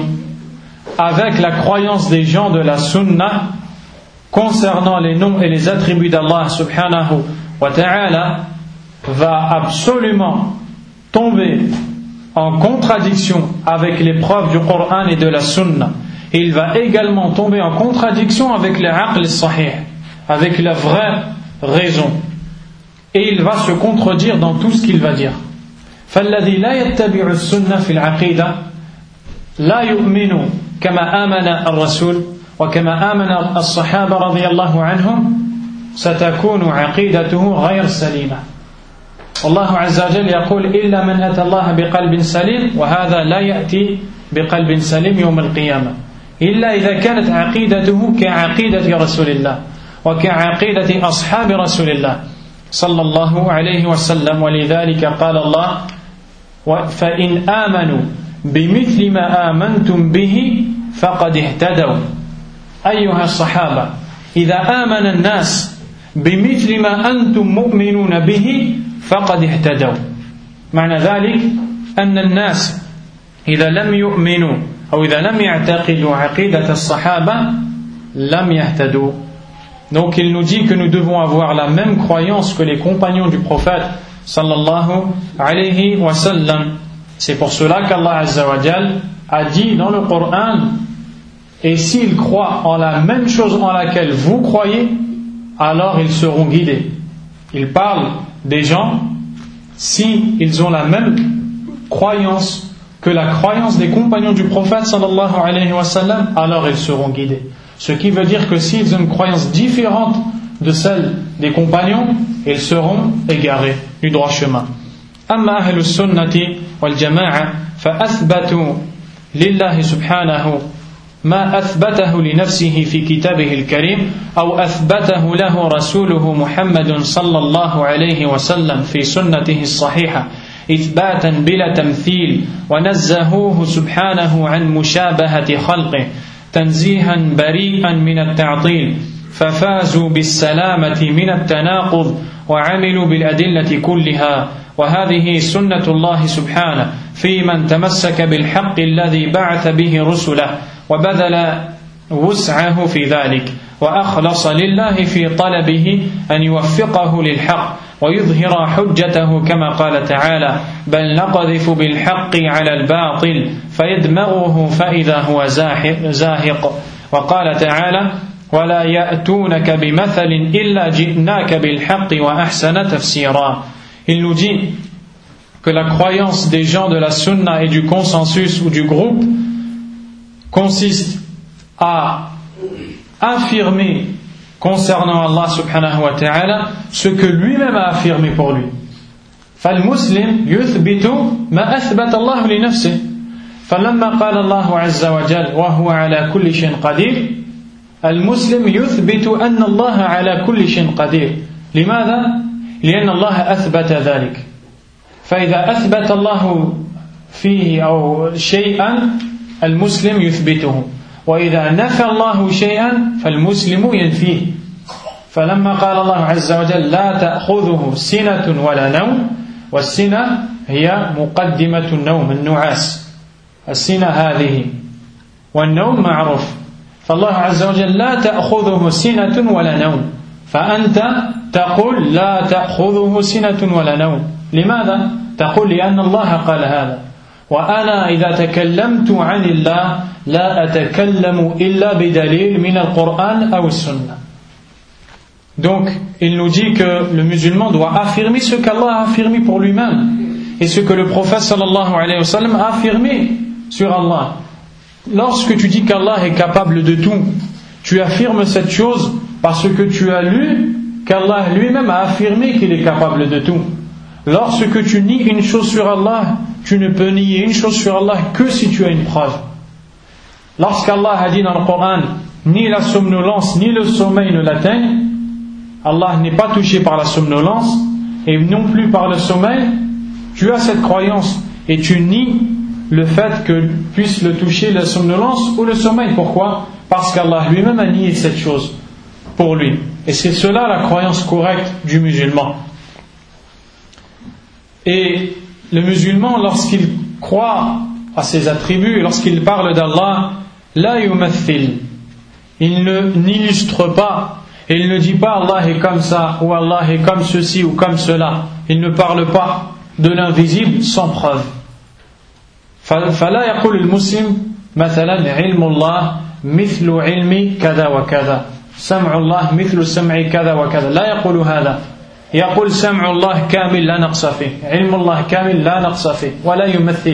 B: avec la croyance des gens de la sunna concernant les noms et les attributs d'Allah subhanahu wa ta'ala va absolument tomber en contradiction avec les preuves du Coran et de la sunna. Et il va également tomber en contradiction avec le aql sahih, avec la vraie raison. Et il va se contredire dans tout ce qu'il va dire. فالذي لا يتبع السنة في العقيدة لا يؤمن كما آمن الرسول وكما آمن الصحابة رضي الله عنهم ستكون عقيدته غير سليمة. والله عز وجل يقول إلا من أتى الله بقلب سليم وهذا لا يأتي بقلب سليم يوم القيامة إلا إذا كانت عقيدته كعقيدة رسول الله وكعقيدة أصحاب رسول الله صلى الله عليه وسلم. ولذلك قال الله فإن آمنوا بمثل ما آمنتم به فقد اهتدوا. أيها الصحابة إذا آمن الناس بمثل ما أنتم مؤمنون به فقد اهتدوا. معنى ذلك أن الناس إذا لم يؤمنوا أو إذا لم يعتقدوا عقيدة الصحابة لم يهتدوا. Donc il nous dit que nous devons avoir la même croyance que les compagnons du prophète sallallahu alayhi wa sallam. C'est pour cela qu'Allah Azza wa Jal a dit dans le Coran: et s'ils croient en la même chose en laquelle vous croyez, alors ils seront guidés. Il parle des gens, si ils ont la même croyance que la croyance des compagnons du prophète sallallahu alayhi wa sallam, alors ils seront guidés. Ce qui veut dire que s'ils ont une croyance différente de celle des compagnons, ils seront égarés du droit chemin. أما أهل السنة والجماعة فأثبتوا لله سبحانه ما أثبته لنفسه في كتابه الكريم أو أثبته له رسوله محمد صلى الله عليه وسلم في سنته الصحيحة إثباتا بلا تمثيل ونزهوه سبحانه عن مشابهة خلقه تنزيها بريئا من التعطيل ففازوا بالسلامة من التناقض وعملوا بالأدلة كلها. وهذه سنة الله سبحانه في من تمسك بالحق الذي بعث به رسله وبذل وسعه في ذلك وأخلص لله في طلبه أن يوفقه للحق ويظهر حجته كما قال تعالى بل نقذف بالحق على الباطل فيدمغه فإذا هو زاهق وقال تعالى ولا يأتونك بمثل إلا جئناك بالحق وأحسن تفسيرا. Il nous dit que la croyance des gens de la sunna et du consensus ou du groupe consiste à affirmer concernant Allah subhanahu wa ta'ala ce que lui-même a affirmé pour lui. فالمسلم يثبت ما أثبت الله لنفسه فلما قال الله عز وجل وهو على كل شيء قدير المسلم يثبت أن الله على كل شيء قدير. لماذا؟ لأن الله أثبت ذلك. فإذا أثبت الله فيه أو شيئا المسلم يثبته وإذا نفى الله شيئا فالمسلم ينفيه. فلما قال الله عز وجل لا تأخذه سنة ولا نوم والسنة هي مقدمة النوم النعاس السنة هذه والنوم معروف فالله عز وجل لا تأخذه سنة ولا نوم فأنت تقول لا تأخذه سنة ولا نوم. لماذا؟ تقول لأن الله قال هذا وأنا إذا تكلمت عن الله لا أتكلم إلا بدليل من القرآن أو السنة. Donc il nous dit que le musulman doit affirmer ce qu'Allah a affirmé pour lui-même et ce que le prophète sallallahu alayhi wa sallam a affirmé sur Allah. Lorsque tu dis qu'Allah est capable de tout, tu affirmes cette chose parce que tu as lu qu'Allah lui-même a affirmé qu'il est capable de tout. Lorsque tu nies une chose sur Allah, tu ne peux nier une chose sur Allah que si tu as une preuve. Lorsqu'Allah a dit dans le Coran, ni la somnolence ni le sommeil ne l'atteignent, Allah n'est pas touché par la somnolence et non plus par le sommeil, tu as cette croyance et tu nies le fait que puisse le toucher la somnolence ou le sommeil. Pourquoi? Parce qu'Allah lui-même a nié cette chose pour lui. Et c'est cela la croyance correcte du musulman. Et le musulman, lorsqu'il croit à ses attributs, lorsqu'il parle d'Allah, la yumathil, il n'illustre pas, et il ne dit pas Allah est comme ça, ou Allah est comme ceci ou comme cela. Il ne parle pas de l'invisible sans preuve. فلا يقول المسلم مثلا علم الله مثل علم كذا وكذا سمع الله مثل سمع كذا وكذا لا يقول هذا يقول سمع الله كامل لا نقص فيه علم الله كامل لا نقص فيه ولا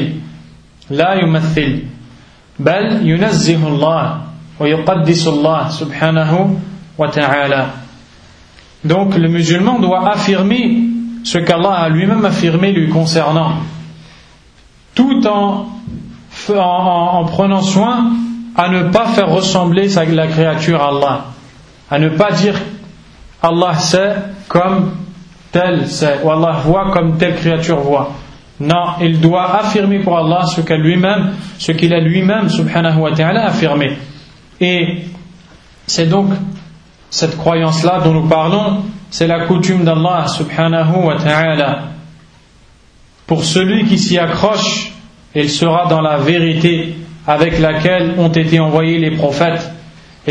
B: يمثل بل ينزه الله ويقدس الله سبحانه وتعالى. Donc le musulman doit affirmer ce qu'Allah a lui-même affirmé lui concernant, tout en prenant soin à ne pas faire ressembler la créature à Allah, à ne pas dire Allah sait comme tel sait, ou Allah voit comme telle créature voit. Non, il doit affirmer pour Allah ce qu'il a lui-même subhanahu wa ta'ala affirmé. Et c'est donc cette croyance-là dont nous parlons, c'est la coutume d'Allah subhanahu wa ta'ala. Pour celui qui s'y accroche, il sera dans la vérité avec laquelle ont été envoyés les prophètes. Et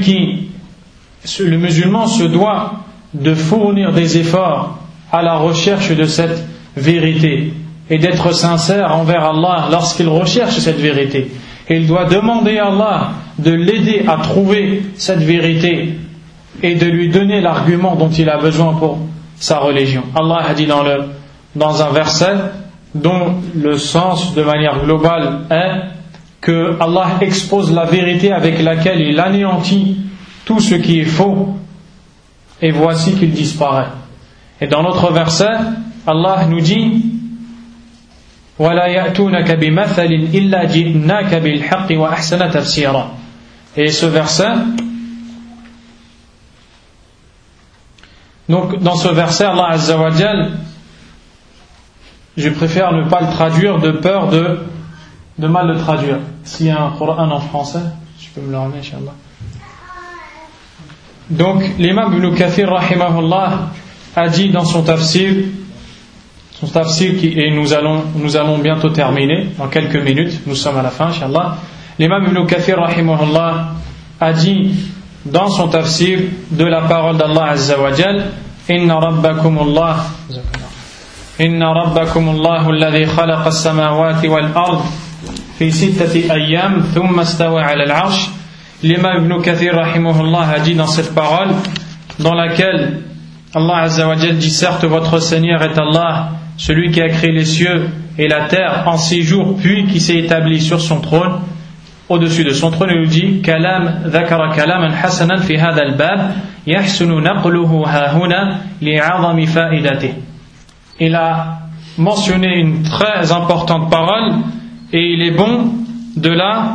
B: le musulman se doit de fournir des efforts à la recherche de cette vérité et d'être sincère envers Allah lorsqu'il recherche cette vérité. Et il doit demander à Allah de l'aider à trouver cette vérité et de lui donner l'argument dont il a besoin pour sa religion. Allah a dit dans un verset dont le sens de manière globale est que Allah expose la vérité avec laquelle il anéantit tout ce qui est faux et voici qu'il disparaît. Et dans l'autre verset, Allah nous dit وَلَا يَأْتُونَكَ بِمَثَلٍ إِلَّا جِئْنَاكَ بِالْحَقِّ وَأَحْسَنَ تَفْسِيرًا. Et ce verset, donc dans ce verset, Allah Azza wa Jal, je préfère ne pas le traduire de peur de mal le traduire. S'il y a un Coran en français, je peux me le ramener, Inch'Allah. Donc l'imam Ibn Kathir rahimahullah a dit dans son tafsir et nous allons bientôt terminer dans quelques minutes, nous sommes à la fin Inch'Allah. L'imam Ibn Kathir rahimahullah a dit dans son tafsir de la parole d'Allah Azza wa Jal إن ربكم الله الذي خلق السماوات والأرض في 6 أيام ثم استوى على العرش. L'imam Ibn Kathir rahimahullah a dit dans cette parole dans laquelle Allah Azza wa Jal dit: certes votre Seigneur est Allah, celui qui a créé les cieux et la terre en 6 jours, puis qui s'est établi sur son trône, au-dessus de son trône. Il nous dit: ذكر كلاما حسنا في هذا الباب يحسن نقله ها هنا لعظم فائدته. Il a mentionné une très importante parole et il est bon de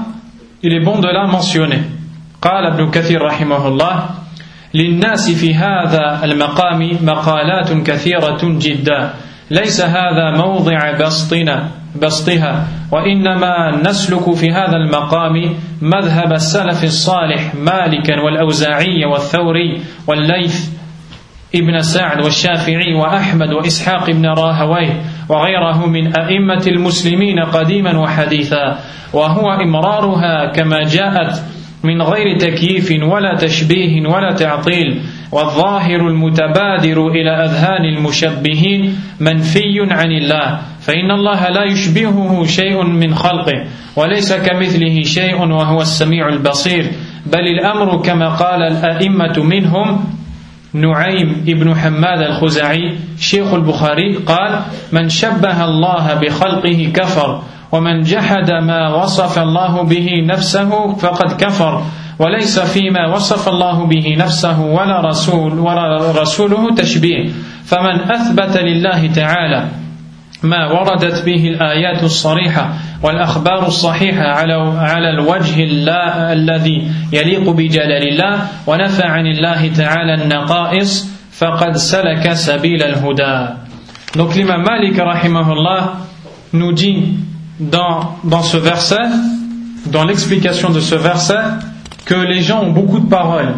B: la mentionner. قال ابن كثير رحمه الله: للناس في هذا المقام مقالات كثيرة جدا ليس هذا موضع بسطها وإنما نسلك في هذا المقام مذهب السلف الصالح مالكا والأوزاعي والثوري والليث ابن سعد والشافعي وأحمد وإسحاق بن راهويه وغيره من أئمة المسلمين قديما وحديثا، وهو إمرارها كما جاءت من غير تكييف ولا تشبيه ولا تعطيل، والظاهر المتبادر إلى أذهان المشبهين منفي عن الله، فإن الله لا يشبهه شيء من خلقه وليس كمثله شيء وهو السميع البصير، بل الأمر كما قال الأئمة منهم نعيم ابن حماد الخزاعي شيخ البخاري قال: من شبه الله بخلقه كفر، ومن جحد ما وصف الله به نفسه فقد كفر، وليس فيما وصف الله به نفسه ولا رسوله تشبيه، فمن أثبت لله تعالى ما وردت به الآيات الصريحة والأخبار الصحيحة على الوجه الذي يليق بجلال الله ونفى عن الله تعالى النقائص فقد سلك سبيل الهدى. Donc l'imam Malik rahimahullah nous dit dans ce verset, dans l'explication de ce verset, que les gens ont beaucoup de paroles.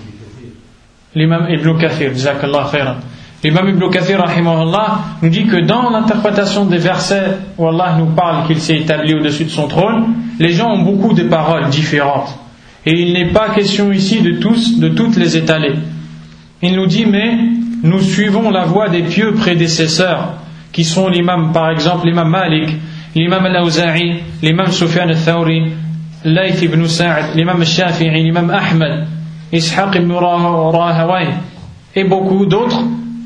B: L'imam Ibn Kathir, jazakallah khairan. L'imam Ibn Kathir rahimahullah nous dit que dans l'interprétation des versets où Allah nous parle qu'il s'est établi au-dessus de son trône, les gens ont beaucoup de paroles différentes. Et il n'est pas question ici de toutes les étaler. Il nous dit: mais nous suivons la voie des pieux prédécesseurs, qui sont l'imam, par exemple, l'imam Malik, l'imam al-Awza'i, l'imam Sufyan al-Thawri, Layth ibn Sa'd, l'imam al-Shafi'i, l'imam Ahmed, Ishaq ibn Rahawayh, et beaucoup d'autres.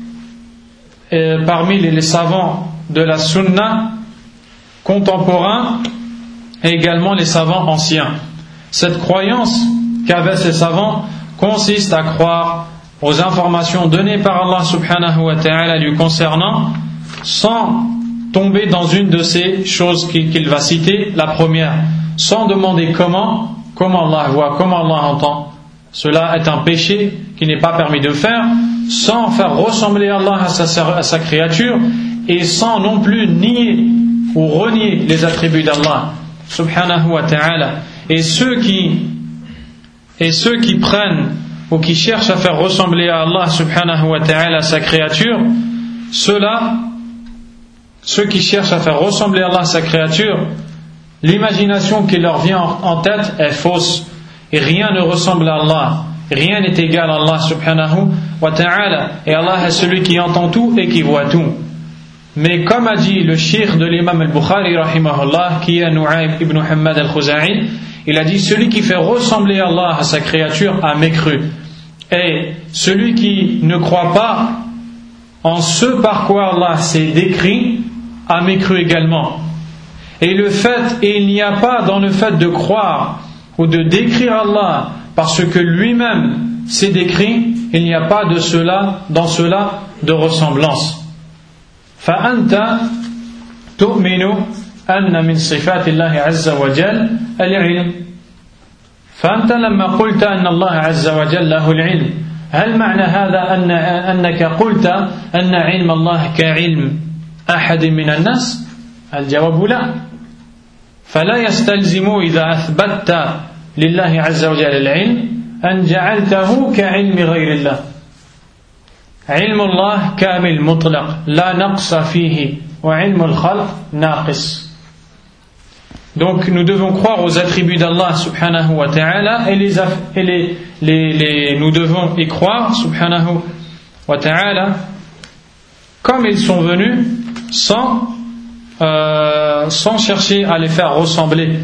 B: Parmi les savants de la sunna contemporains et également les savants anciens. Cette croyance qu'avaient ces savants consiste à croire aux informations données par Allah subhanahu wa ta'ala lui concernant, sans tomber dans une de ces choses qu'il va citer. La première, sans demander comment Allah voit, comment Allah entend. Cela est un péché qui n'est pas permis de faire, sans faire ressembler Allah à sa créature, et sans non plus nier ou renier les attributs d'Allah subhanahu wa ta'ala. Et ceux qui prennent ou qui cherchent à faire ressembler à Allah subhanahu wa ta'ala à sa créature, ceux qui cherchent à faire ressembler à Allah à sa créature, l'imagination qui leur vient en tête est fausse, et rien ne ressemble à Allah. Rien n'est égal à Allah subhanahu wa ta'ala, et Allah est celui qui entend tout et qui voit tout. Mais comme a dit le cheikh de l'imam al-Bukhari rahimahullah, qui est Nu'aym ibn Hammad al-Khuzai, il a dit: celui qui fait ressembler Allah à sa créature a mécru, et celui qui ne croit pas en ce par quoi Allah s'est décrit a mécru également. Et il n'y a pas dans le fait de croire ou de décrire Allah parce que lui-même s'est décrit, il n'y a pas dans cela de ressemblance. فأنت تؤمن أن من صفات الله عز وجل العلم، فأنت لما قلت أن الله عز وجل له العلم، هل معنى هذا أنك قلت أن علم الله كعلم أحد من الناس؟ الجواب لا. فلا يستلزم إذا أثبتت لله عز وجل العلم أن جعلته كعلم غير الله. علم الله كامل مطلق لا نقص فيه وعلم الخلق ناقص. Donc nous devons croire aux attributs d'Allah subhanahu wa ta'ala, et nous devons y croire subhanahu wa ta'ala, comme ils sont venus sans chercher à les faire ressembler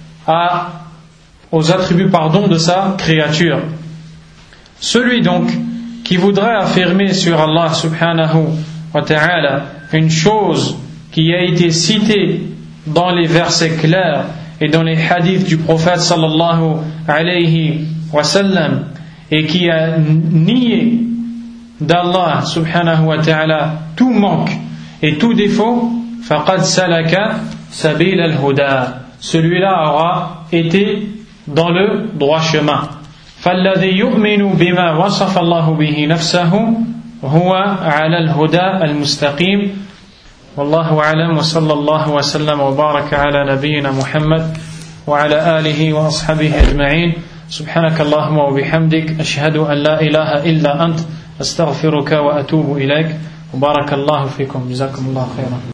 B: aux attributs de sa créature. Celui donc qui voudrait affirmer sur Allah subhanahu wa ta'ala une chose qui a été citée dans les versets clairs et dans les hadiths du prophète sallallahu alayhi wa sallam, et qui a nié d'Allah subhanahu wa ta'ala tout manque et tout défaut, faqad salaka sabil al-huda, celui-là aura été dans le droit chemin. فالذي يؤمن بما وصف الله به نفسه هو على الهدى المستقيم. والله أعلم، وصلى الله وسلم وبارك على نبينا محمد وعلى آله وأصحابه أجمعين. سبحانك اللهم وبحمدك، أشهد أن لا إله إلا أنت، أستغفرك وأتوب إليك. وبارك الله فيكم، جزاكم الله خيرا.